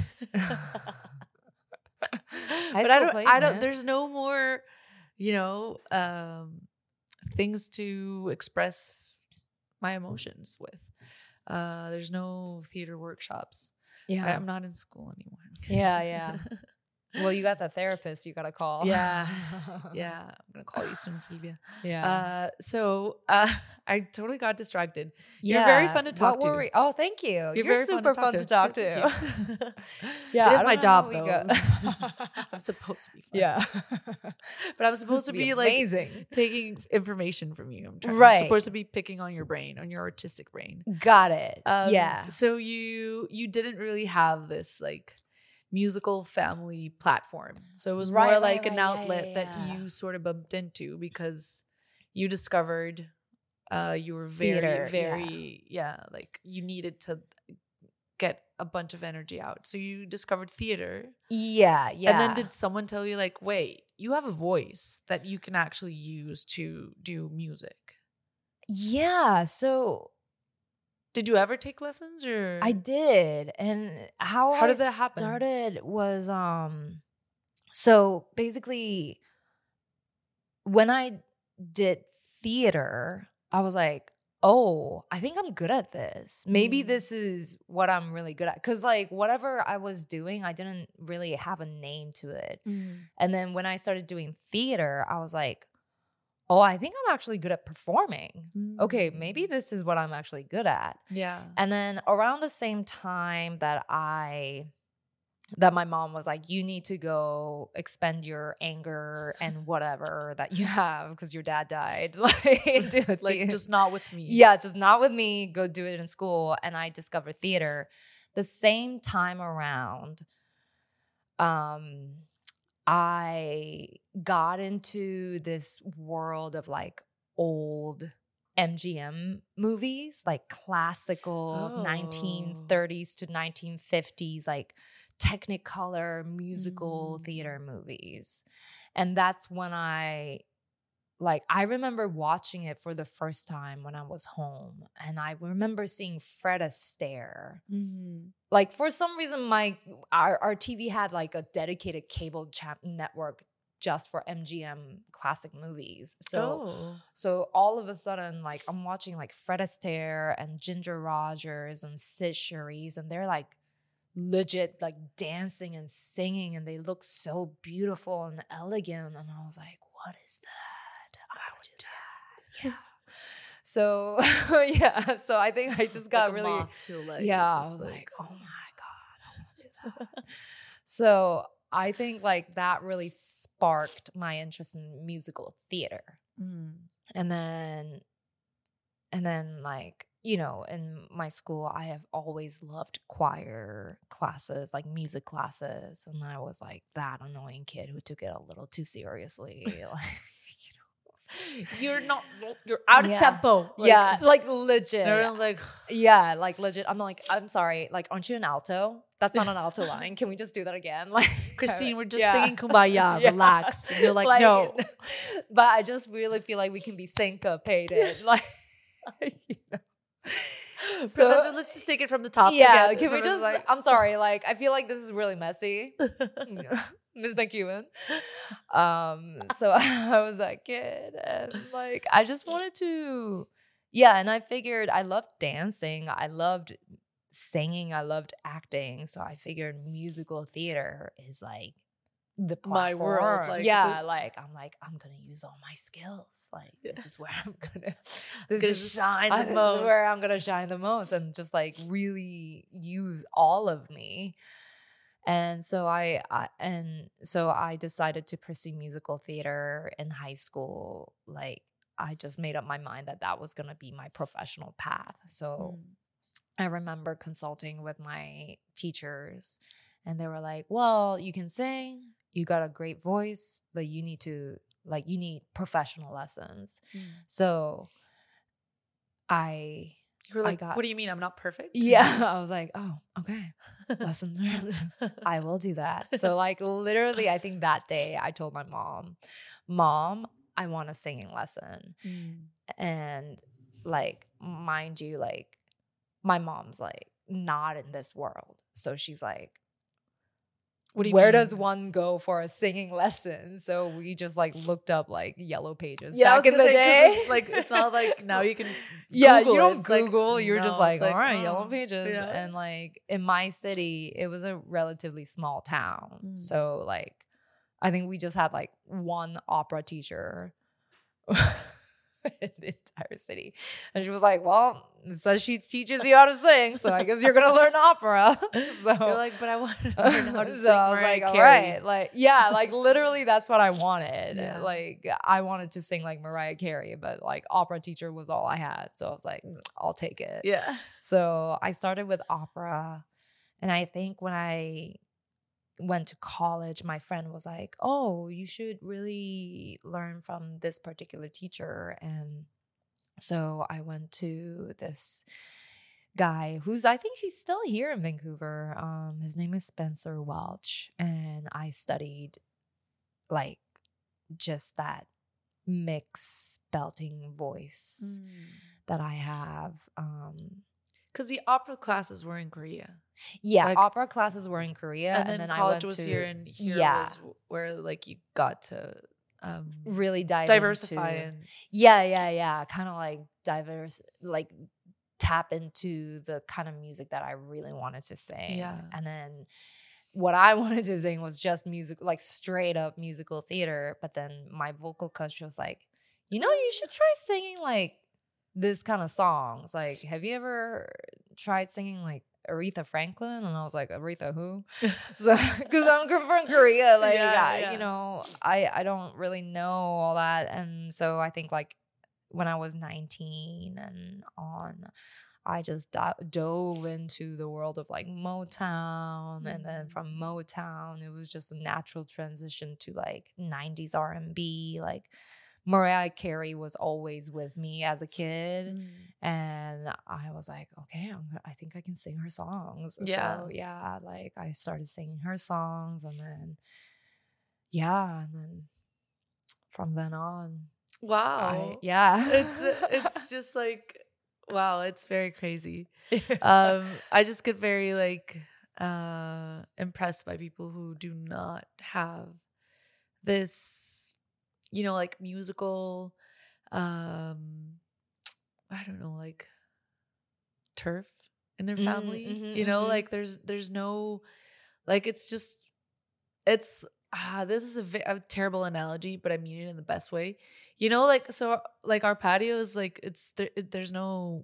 But I don't. There's no more, things to express my emotions with. There's no theater workshops. Yeah, I'm not in school anymore. Yeah. Well, you got that therapist you got to call. Yeah. I'm going to call you soon, Silvia. Yeah. So I totally got distracted. You're very fun to talk to. Oh, thank you. You're super fun to talk to. Yeah. It is my job, though. I'm supposed to be fun. Yeah. But I'm supposed to be amazing. Taking information from you. I'm supposed to be picking on your brain, on your artistic brain. Got it. Yeah. So you didn't really have this like musical family platform. So it was more like an outlet that you sort of bumped into because you discovered you were very like you needed to get a bunch of energy out. So you discovered theater. Yeah. And then did someone tell you like, wait, you have a voice that you can actually use to do music? Yeah. So did you ever take lessons or? I did. And how did that happen? Started was so basically when I did theater, I was like, oh, I think I'm good at this. Maybe this is what I'm really good at. Cause like whatever I was doing, I didn't really have a name to it. And then when I started doing theater, I was like, oh, I think I'm actually good at performing. Okay, maybe this is what I'm actually good at. Yeah. And then around the same time that my mom was like, you need to go expend your anger and whatever that you have because your dad died. Like, just not with me. Yeah, just not with me. Go do it in school. And I discovered theater. The same time around, I got into this world of like old MGM movies, like classical 1930s to 1950s, like Technicolor musical theater movies. And that's when I remember watching it for the first time when I was home. And I remember seeing Fred Astaire. Like for some reason, our TV had like a dedicated cable network just for MGM classic movies. So all of a sudden, like I'm watching like Fred Astaire and Ginger Rogers and Sid Charisse, and they're like legit like dancing and singing, and they look so beautiful and elegant. And I was like, what is that? I would do that. Yeah. So so I think I just got really I was like, oh my God, I want to do that. So I think like that really sparked my interest in musical theater. And then like, in my school, I have always loved choir classes, like music classes. And I was like that annoying kid who took it a little too seriously. You're out of tempo. Like legit. Everyone's like, like legit. I'm like, I'm sorry. Like, aren't you an alto? That's not an alto line. Can we just do that again? Like, Christine, we're just singing Kumbaya. Relax. And you're like, no. But I just really feel like we can be syncopated. Like, So, Professor, let's just take it from the top. Yeah, again. Can we just? Like, I'm sorry. Like, I feel like this is really messy. Ms. McEwen. So I was that kid, and like I just wanted to, and I figured I loved dancing, I loved singing, I loved acting, so I figured musical theater is like the platform. My world. Like, I'm gonna use all my skills. Like this is where I'm gonna shine the most. This is where I'm gonna shine the most, and just like really use all of me. And so I decided to pursue musical theater in high school. Like I just made up my mind that was going to be my professional path. So I remember consulting with my teachers, and they were like, well, you can sing, you got a great voice, but you need to like you need professional lessons. Mm. So You were like, got, what do you mean I'm not perfect? Yeah, I was like, oh, okay. Lessons learned. I will do that. So like literally, I think that day I told my mom, I want a singing lesson. And like, mind you, like my mom's like not in this world. So she's like, what do you where mean? does one go for a singing lesson? So we just like looked up like Yellow Pages Yeah, back in the day. It's like it's not like now you can yeah, Google you don't It's Google. Like, you're just no, like, it's all like, right, oh, Yellow Pages. yeah. And like in my city, it was a relatively small town. So like I think we just had like one opera teacher in the entire city. And she was like, well, it says she teaches you how to sing, so I guess you're gonna learn opera. So you're like, but I want to learn how to so sing I was Mariah like, all Carey. right, like yeah, like literally that's what I wanted. Yeah. Like I wanted to sing like Mariah Carey, but like opera teacher was all I had. So I was like, I'll take it. Yeah. So I started with opera, and I think when I went to college, my friend was like, oh, you should really learn from this particular teacher. And so I went to this guy who's, I think he's still here in Vancouver. His name is Spencer Welch. And I studied like just that mix belting voice that I have. Because the opera classes were in Korea. Yeah, like, opera classes were in Korea, and then college was here, and here was where like you got to really diversify into, and kind of like tap into the kind of music that I really wanted to sing. Yeah. And then what I wanted to sing was just music, like straight up musical theater. But then my vocal coach was like, you should try singing like this kind of songs. Like, have you ever tried singing like Aretha Franklin? And I was like, Aretha who? So because I'm from Korea, like I don't really know all that. And so I think like when I was 19 and on, I just dove into the world of like Motown. And then from Motown, it was just a natural transition to like 90s R&B. Like Mariah Carey was always with me as a kid. And I was like, okay, I think I can sing her songs. Yeah. So yeah, like I started singing her songs, and then and then from then on. Wow. It's just like, wow, it's very crazy. I just get very like impressed by people who do not have this, like musical I don't know, like turf in their family. Like there's no, like it's just, it's this is a terrible analogy, but I mean it in the best way. Like, so like our patio is like, there's no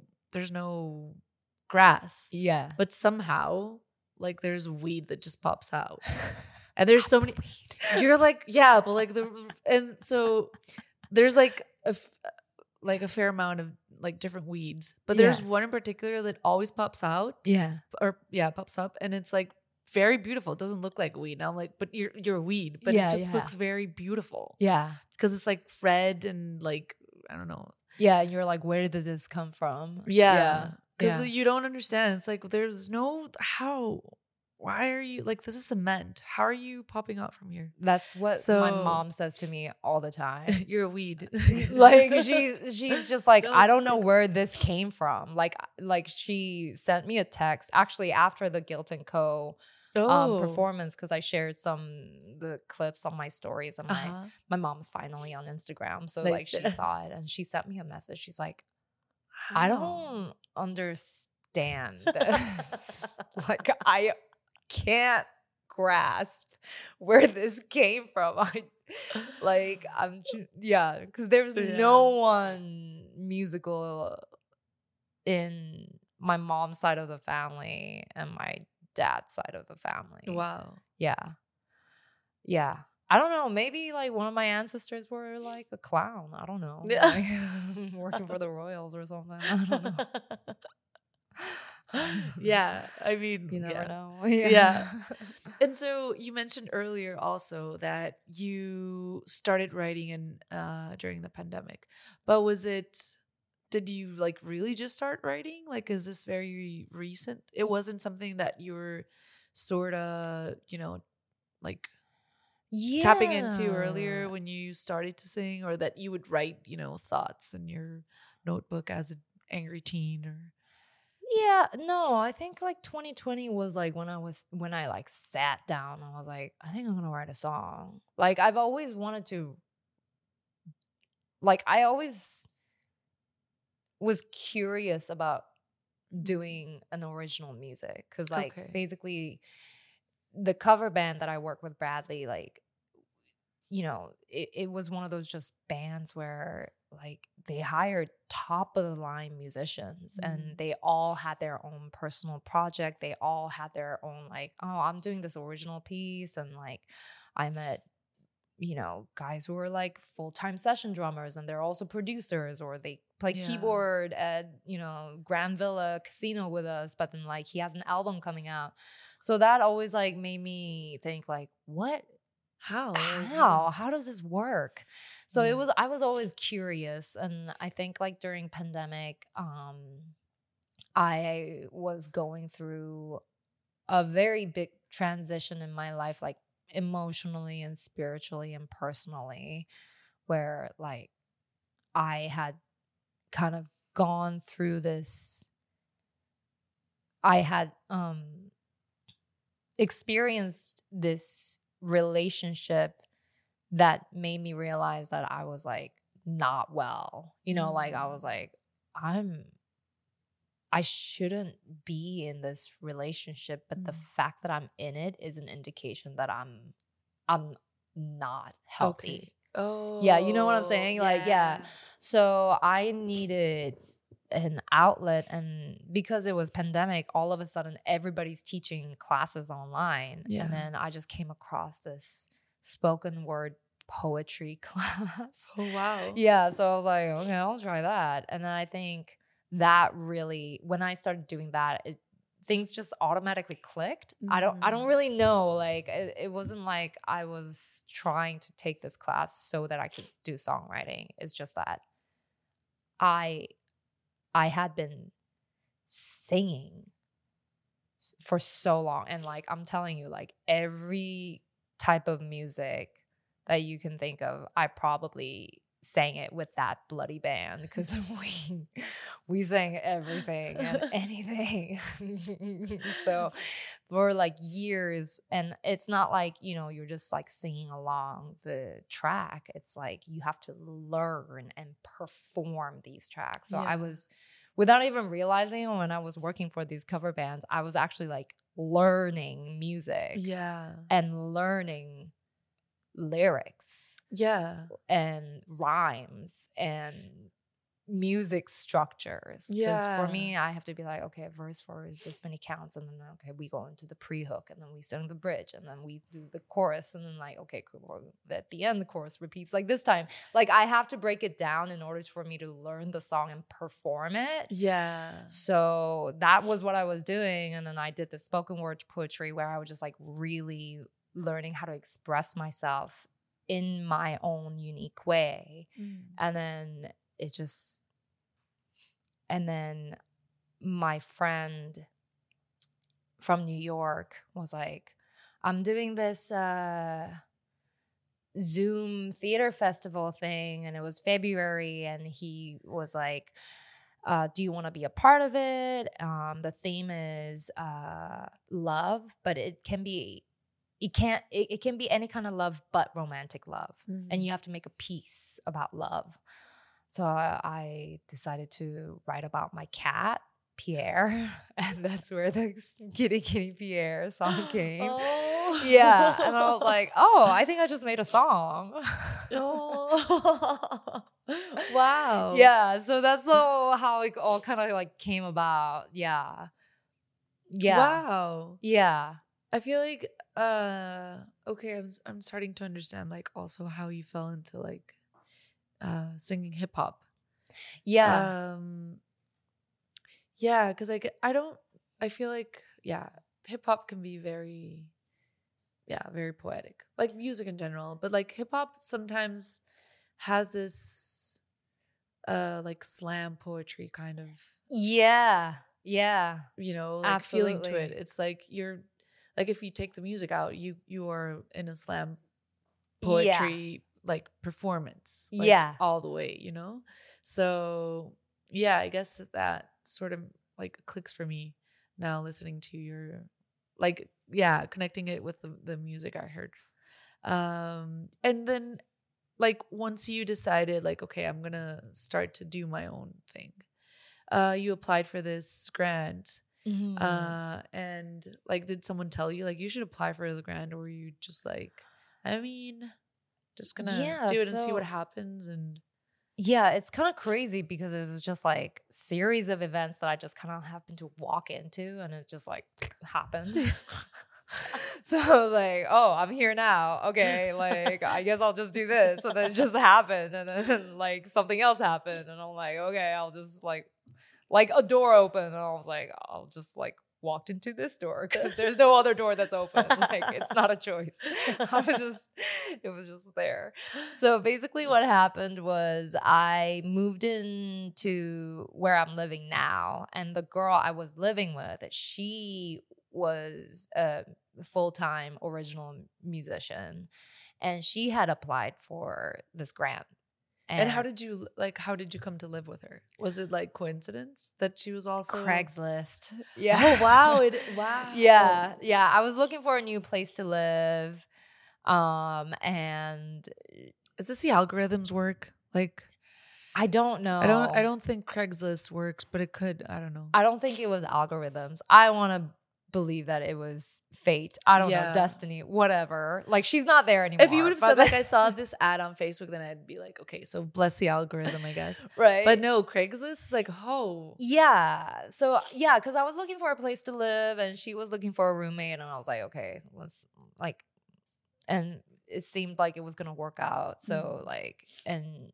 grass. Yeah. But somehow like there's weed that just pops out. And there's so many you're like, yeah, but like and so there's like a fair amount of like different weeds, but there's one in particular that always pops out. Yeah. Pops up, and it's like very beautiful. It doesn't look like weed. And I'm like, but you're a weed, but it just looks very beautiful. Yeah. Because it's like red and like, I don't know. Yeah. And you're like, where did this come from? Yeah. Because you don't understand. It's like, there's no, why are you like, this is cement. How are you popping out from here? That's what my mom says to me all the time. You're a weed. Like she's just like, I don't know where this came from. Like she sent me a text actually after the Guilt and Co. Performance, because I shared the clips on my stories, and my mom's finally on Instagram, so like she saw it and she sent me a message. She's like, I don't understand this. Like I can't grasp where this came from. Because there's no one musical in my mom's side of the family and my dad's side of the family. Wow. Yeah. I don't know. Maybe like one of my ancestors were like a clown. I don't know. Yeah. Like, working for the Royals or something. I don't know. Yeah, I mean, You never yeah. know. Yeah. And so you mentioned earlier also that you started writing in during the pandemic. But did you like really just start writing? Like, is this very recent? It wasn't something that you were sort of, like tapping into earlier Yeah. when you started to sing, or that you would write, thoughts in your notebook as an angry teen, or Yeah, no, I think like 2020 was like when I like sat down and I was like, I think I'm gonna write a song. Like I've always wanted to, like I always was curious about doing an original music because like okay. basically the cover band that I work with, Bradley, like it was one of those just bands where like they hired top of the line musicians and Mm. they all had their own personal project. They all had their own like, oh, I'm doing this original piece. And like I met, guys who are like full-time session drummers and they're also producers, or they play Yeah. keyboard at, Grand Villa Casino with us, but then like he has an album coming out. So that always like made me think like, How? Like, how does this work? So yeah. I was always curious, and I think like during pandemic I was going through a very big transition in my life, like emotionally and spiritually and personally, where like I had kind of gone through this. I had experienced this relationship that made me realize that I was like not well. Like I was like, I shouldn't be in this relationship, but the fact that I'm in it is an indication that I'm not Okay. healthy. Yeah, you know what I'm Oh, saying? Like, yeah. yeah. So I needed an outlet, and because it was pandemic, all of a sudden everybody's teaching classes online. Yeah. And then I just came across this spoken word poetry class. Oh, wow. Yeah, so I was like, okay, I'll try that. And then I think that really, when I started doing that, things just automatically clicked. I don't really know, like it wasn't like I was trying to take this class so that I could do songwriting. It's just that I had been singing for so long, and like I'm telling you, like every type of music that you can think of, I probably sang it with that bloody band, because we sang everything and anything. So for like years, and it's not like you're just like singing along the track. It's like you have to learn and perform these tracks. So I Yeah. was, without even realizing, when I was working for these cover bands, I was actually like learning music Yeah. and learning lyrics Yeah. and rhymes and music structures. Because for Yeah. me, I have to be like, okay, a verse for this many counts, and then okay, we go into the pre-hook, and then we sing the bridge, and then we do the chorus, and then like, okay, cool, at the end the chorus repeats like this time. Like I have to break it down in order for me to learn the song and perform it. Yeah. So that was what I was doing. And then I did the spoken word poetry, where I was just like really learning how to express myself in my own unique way. And then it just, and then my friend from New York was like, I'm doing this Zoom theater festival thing, and it was February, and he was like, do you want to be a part of it? The theme is love, but it can be any kind of love, but romantic love. And you have to make a piece about love. So I decided to write about my cat, Pierre, and that's where the Kitty Kitty Pierre song came. Oh. Yeah, and I was like, oh, I think I just made a song. Oh. Wow. Yeah, so that's how it all kind of like came about. Yeah. Wow. Yeah. I feel like okay, I'm starting to understand like also how you fell into like singing hip hop. Yeah. Yeah, cuz like I don't I feel like, yeah, hip hop can be very, very poetic, like music in general. But like hip hop sometimes has this like slam poetry kind of, Yeah. Yeah. like feeling to it. Absolutely. It's like you're like, if you take the music out, you are in a slam Yeah. poetry like performance, like Yeah. all the way. So yeah, I guess that sort of like clicks for me now, listening to your, like, yeah, connecting it with the music I heard. And then like once you decided like, okay, I'm gonna start to do my own thing, you applied for this grant. And like, did someone tell you like you should apply for the grant, or were you just like, I mean, just gonna Yeah. do it and see what So happens? And yeah, it's kind of crazy because it was just like series of events that I just kind of happened to walk into, and it just like happened. So I was like, oh, I'm here now. Okay, like I guess I'll just do this. And then it just happened. And then like something else happened. And I'm like, okay, I'll just like a door opened. And I was like, I'll just like walked into this door because there's no other door that's open. Like it's not a choice. It was just there. So basically what happened was I moved into where I'm living now. And the girl I was living with, she was a full-time original musician, and she had applied for this grant. And how did you come to live with her? Was it like coincidence that she was also Craigslist? Yeah. Oh wow! Wow. Yeah. I was looking for a new place to live, and Is this the algorithms work? Like, I don't know. I don't think Craigslist works, but it could. I don't know. I don't think it was algorithms. I want to believe that it was fate. I don't know, destiny, whatever. Like she's not there anymore. If you would have said like I saw this ad on Facebook, then I'd be like, okay, so bless the algorithm, I guess. Right. But no, Craigslist is like, oh. Yeah. So yeah, because I was looking for a place to live and she was looking for a roommate, and I was like, okay, let's like, and it seemed like it was gonna work out. So like, and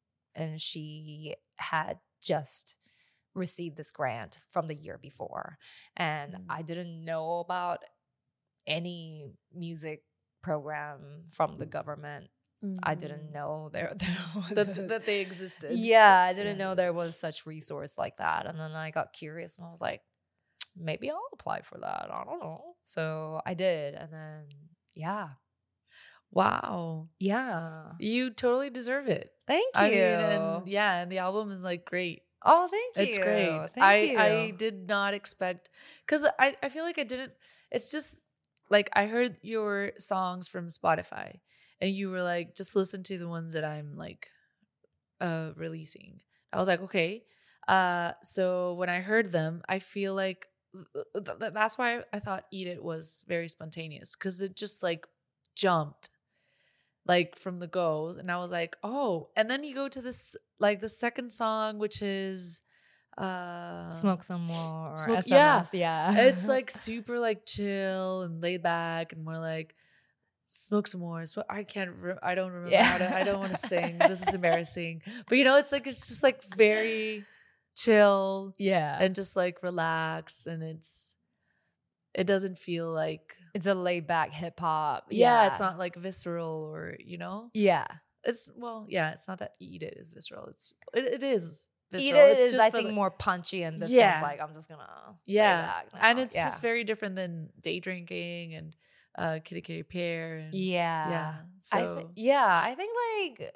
she had just received this grant from the year before, and I didn't know about any music program from the government. I didn't know there was that they existed. Yeah, I didn't know there was such resource like that. And then I got curious and I was like, maybe I'll apply for that. I don't know. So I did, and then yeah. Wow. Yeah. You totally deserve it. Thank you. I mean, and the album is like great. Oh, thank you. It's great. Thank you. I did not expect, because I feel like I didn't. It's just like I heard your songs from Spotify, and you were like, just listen to the ones that I'm like releasing. I was like, okay. So when I heard them, I feel like that's why I thought Eat It was very spontaneous, because it just like jumped like from the goes, and I was like, oh. And then you go to this like the second song, which is Smoke Some More, or Smoke, SMS. Yeah. It's like super like chill and laid back, and more like Smoke Some More. So I don't remember how to, I don't want to sing. This is embarrassing. But it's like, it's just like very chill. Yeah. And just like relax, and it doesn't feel like it's a laid back hip hop. Yeah, it's not like visceral or Yeah. It's it's not that Eat It is visceral. It is visceral. Eat It it's is, just I think, more punchy, and this one's like, I'm just gonna lay back now. And it's just very different than Day Drinking and Kitty Kitty Pear. And, So I think like,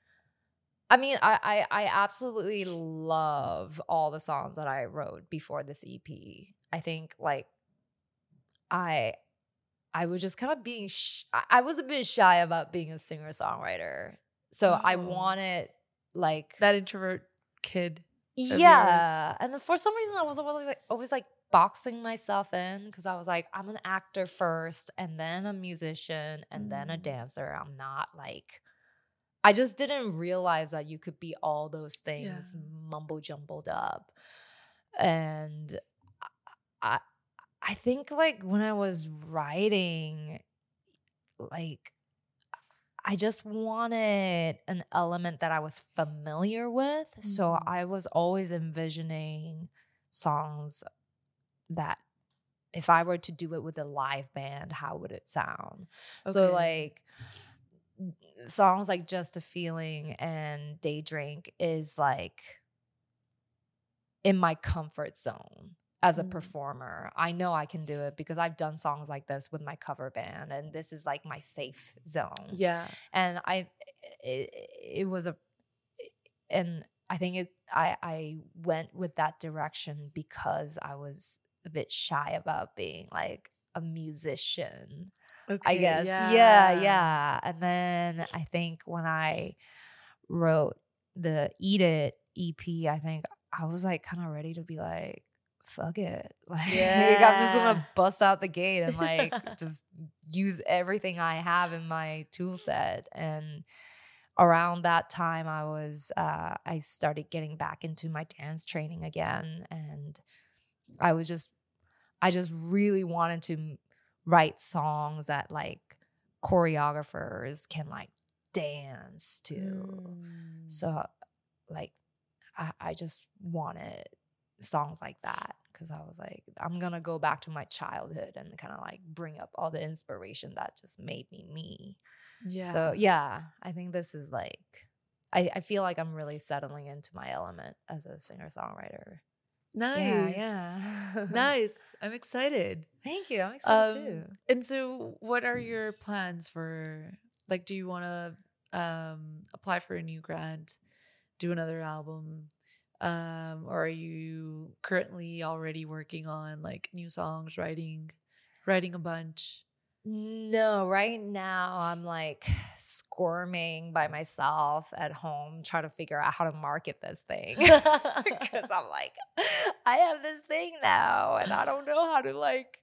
I mean, I absolutely love all the songs that I wrote before this EP. I think like I was just kind of being I was a bit shy about being a singer-songwriter. So I wanted like that introvert kid. Yeah. And then for some reason I was always like boxing myself in, because I was like, I'm an actor first, and then a musician, and then a dancer. I'm not like, I just didn't realize that you could be all those things mumble jumbled up. And I think like when I was writing, like I just wanted an element that I was familiar with. So I was always envisioning songs that if I were to do it with a live band, how would it sound? Okay. So like songs like Just a Feeling and Day Drink is like in my comfort zone as a performer. I know I can do it because I've done songs like this with my cover band, and this is like my safe zone. Yeah. And it was and I think I went with that direction because I was a bit shy about being like a musician. Okay. I guess. Yeah. Yeah. And then I think when I wrote the Eat It EP, I think I was like kind of ready to be like, fuck it. Like, I'm just gonna bust out the gate and like just use everything I have in my tool set. And around that time I started getting back into my dance training again. And I just really wanted to write songs that like choreographers can like dance to. So like I just wanted songs like that because I was like, I'm gonna go back to my childhood and kind of like bring up all the inspiration that just made me me. Yeah. So yeah, I think this is like I feel like I'm really settling into my element as a singer-songwriter. Nice. Yeah. Nice. I'm excited. Thank you. I'm excited too. And so what are your plans for, like, do you want to apply for a new grant, do another album? Or are you currently already working on like new songs, writing a bunch? No, right now I'm like squirming by myself at home trying to figure out how to market this thing. Because I'm like, I have this thing now and I don't know how to like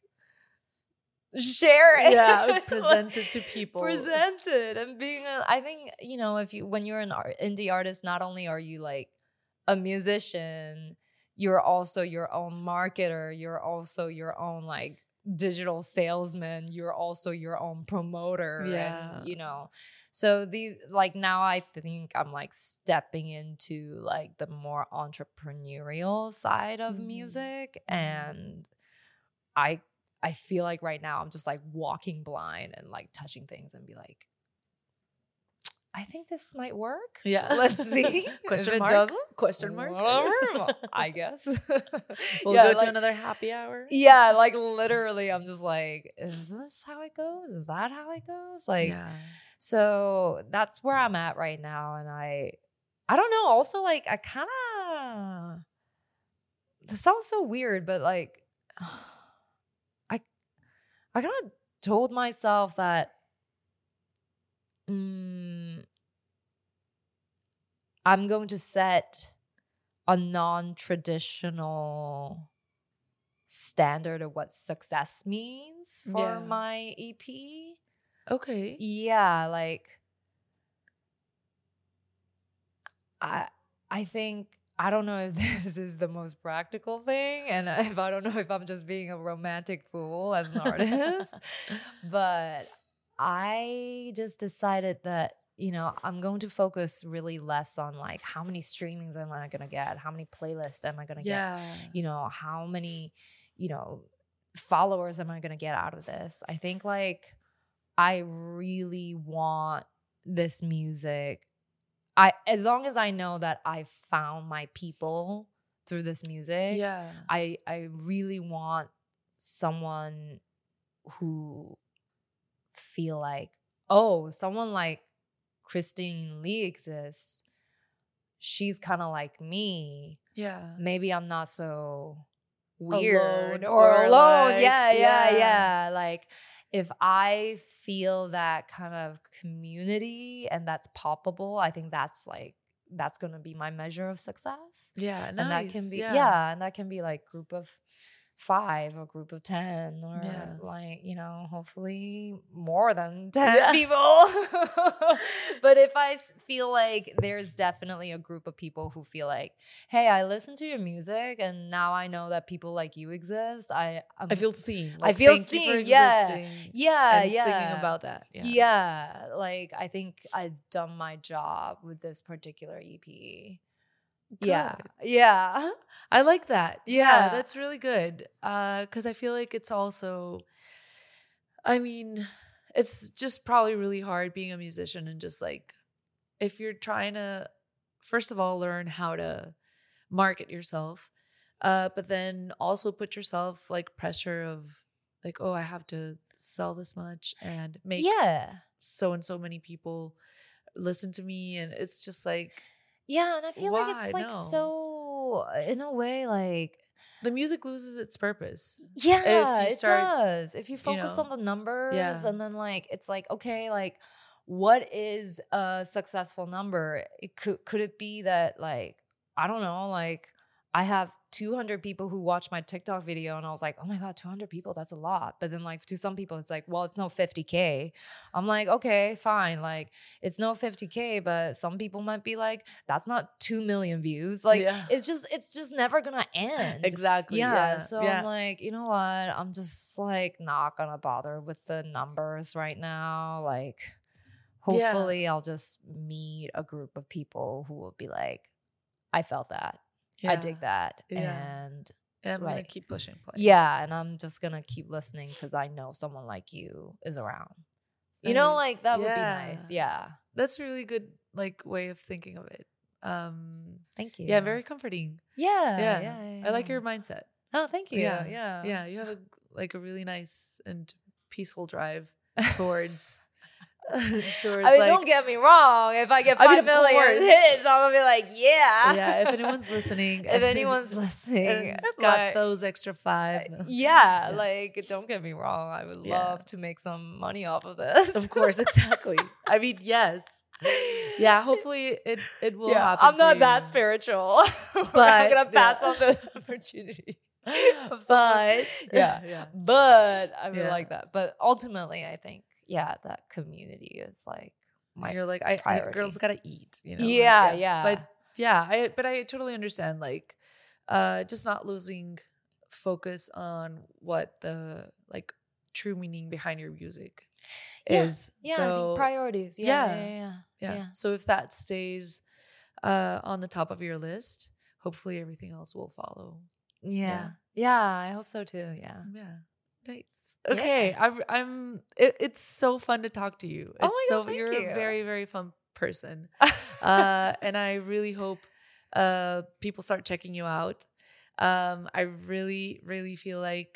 share it. Yeah, present it to people. Present it. And I think, when you're an indie artist, not only are you like a musician, you're also your own marketer, you're also your own like digital salesman, you're also your own promoter. Yeah. And so these like now I think I'm like stepping into like the more entrepreneurial side of music. And I feel like right now I'm just like walking blind and like touching things and be like, I think this might work. Yeah. Let's see. Question if mark? It doesn't, Question mark? whatever, I guess. We'll go to another happy hour. Yeah, like literally I'm just like, is this how it goes? Is that how it goes? Like, so that's where I'm at right now. And I don't know. Also, like, I kind of, this sounds so weird, but like, I kind of told myself that I'm going to set a non-traditional standard of what success means for my EP. Okay. Yeah, like I think, I don't know if this is the most practical thing, and if I don't know if I'm just being a romantic fool as an artist, but I just decided that, I'm going to focus really less on like how many streamings am I going to get? How many playlists am I going to get? How many, followers am I going to get out of this? I think like I really want this music. As long as I know that I found my people through this music, I really want someone who feel like, oh, someone like Christine Lee exists. She's kind of like me. Yeah. Maybe I'm not so weird or alone. Like, yeah. Like if I feel that kind of community and that's palpable, I think that's going to be my measure of success. Yeah. Nice. And that can be, and that can be like group of 5 or group of 10 or like, hopefully more than 10 people. But if I feel like there's definitely a group of people who feel like, hey, I listen to your music and now I know that people like you exist. I feel seen. Like, I feel seen. Yeah. Singing about that. Yeah. Like I think I've done my job with this particular EP. Yeah. Yeah. I like that. Yeah. That's really good. Because I feel like it's also, I mean, it's just probably really hard being a musician and just like, if you're trying to, first of all, learn how to market yourself, but then also put yourself like pressure of like, oh, I have to sell this much and make so and so many people listen to me. And it's just like, yeah. And I feel like it's like No. so, in a way, like, the music loses its purpose. yeah, it does. If you focus on the numbers Yeah. and then like, it's like, okay, like, what is a successful number? It could it be that like, I don't know, like I have 200 people who watch my TikTok video and I was like, oh my God, 200 people, that's a lot. But then like to some people, it's like, well, it's no 50K. I'm like, okay, fine. Like it's no 50K, but some people might be like, that's not 2 million views. Like it's just never gonna end. Exactly. Yeah. So I'm like, you know what? I'm just like not gonna bother with the numbers right now. Like hopefully I'll just meet a group of people who will be like, I felt that. I dig that. And I'm like, gonna keep pushing play. Yeah, and I'm just gonna keep listening because I know someone like you is around. Nice. You know, like that would be nice. Yeah. That's a really good like way of thinking of it. Thank you. Yeah, very comforting. Yeah. I like your mindset. Oh, thank you. Yeah. You have a really nice and peaceful drive towards I mean, like, don't get me wrong. If I get 5 million hits, I'm gonna be like, yeah. If anyone's listening, and got those extra 5. Like, don't get me wrong. I would love to make some money off of this. Of course, exactly. I mean, yes. Yeah, hopefully it will happen. I'm not that spiritual, but I'm gonna pass on the opportunity. But but I would like that. But ultimately, I think that community is like my you're like priority. Girls gotta eat, you know. But I totally understand like just not losing focus on what the like true meaning behind your music is. So, I think priorities. Yeah. So if that stays on the top of your list, hopefully everything else will follow. Yeah, I hope so too. Yeah. Nice. Okay, it's so fun to talk to you. It's you're a very, very fun person. And I really hope people start checking you out. I really, really feel like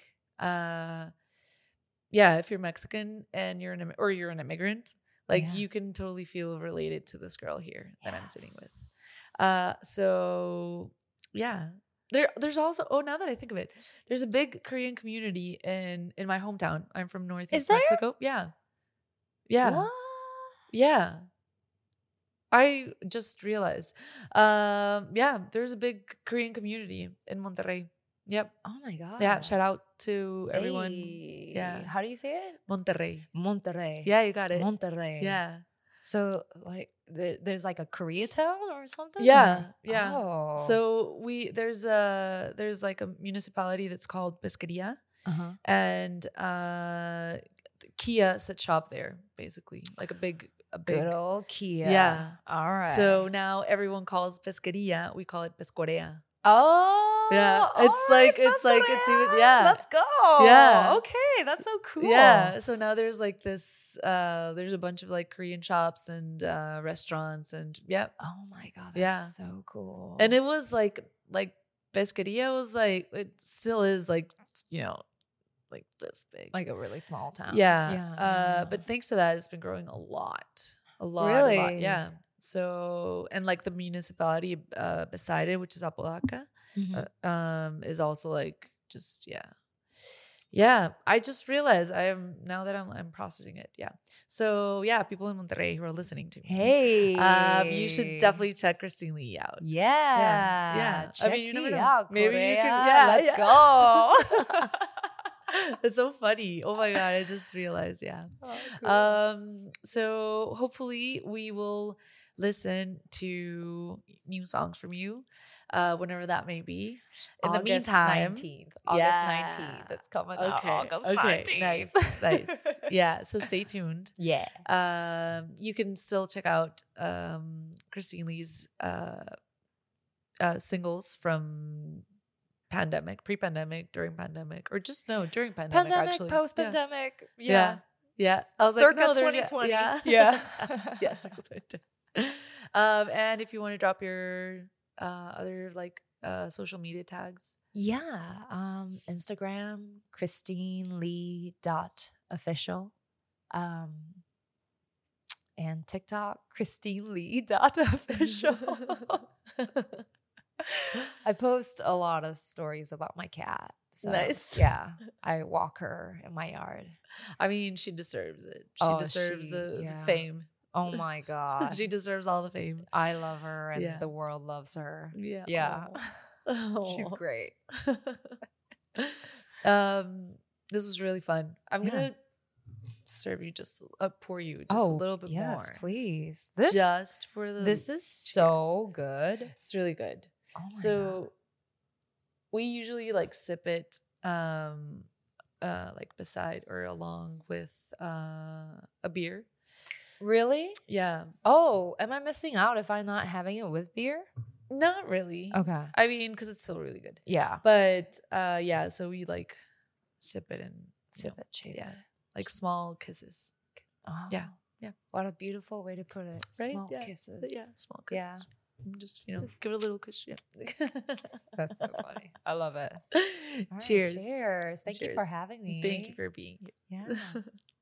if you're Mexican and you're an immigrant, like you can totally feel related to this girl here that I'm sitting with. So yeah. There's also now that I think of it, there's a big Korean community in my hometown. I'm from Northeast Mexico. Yeah. What? Yeah. I just realized. There's a big Korean community in Monterrey. Yep. Oh my God. Yeah. Shout out to everyone. Yeah. How do you say it? Monterrey. Yeah, you got it. Monterrey. Yeah. So like there's like a Koreatown or something? Yeah. Oh. So there's like a municipality that's called Pesquería. And Kia set shop there, basically. Like a big good old Kia. Yeah. All right. So now everyone calls Pesquería, we call it Pescorea. Oh yeah, it's even Let's go. Yeah, okay, that's so cool. Yeah, so now there's like this. There's a bunch of like Korean shops and restaurants and Oh my God, that's so cool. And it was like Pesquería was like it still is like like this big, like a really small town. Yeah. But thanks to that, it's been growing a lot. Really? A lot. Yeah. So, and like the municipality beside it, which is Apodaca, is also like just yeah. I just realized now that I'm processing it. Yeah. So people in Monterrey who are listening to me, hey, you should definitely check Christine Lee out. Yeah. I mean, you never know. Out, maybe Korea. You can. Let's go. That's so funny. Oh my God, I just realized. Yeah. Oh, cool. So hopefully we will listen to new songs from you whenever that may be. In the meantime, August 19th. It's coming out August 19th. Nice. Yeah, so stay tuned. Yeah. You can still check out Christine Lee's singles from pandemic, pre-pandemic, during pandemic, or just during pandemic, actually. Post-pandemic. Yeah. I was circa like, no, 2020. Yeah. Yeah, circa 2020. And if you want to drop your other like social media tags. Yeah. Instagram, ChristineLee.official. And TikTok, ChristineLee.official. I post a lot of stories about my cat. So, nice. Yeah. I walk her in my yard. I mean, she deserves it. She deserves the fame. Oh my God. She deserves all the fame. I love her and the world loves her. Yeah. Yeah. Aww. She's great. This was really fun. I'm gonna serve you pour you just a little bit more. Yes, please. This is so good. It's really good. Oh my God. We usually like sip it like beside or along with a beer. Really? Yeah. Oh, am I missing out if I'm not having it with beer? Not really. Okay. I mean, because it's still really good. Yeah. But so we like sip it and chase it. Like small kisses. Oh. Yeah. What a beautiful way to put it. Right? Small kisses. Yeah, small kisses. Yeah. Just give it a little kiss. Yeah. That's so funny. I love it. Cheers. Cheers. Thank you for having me. Thank you for being here. Yeah.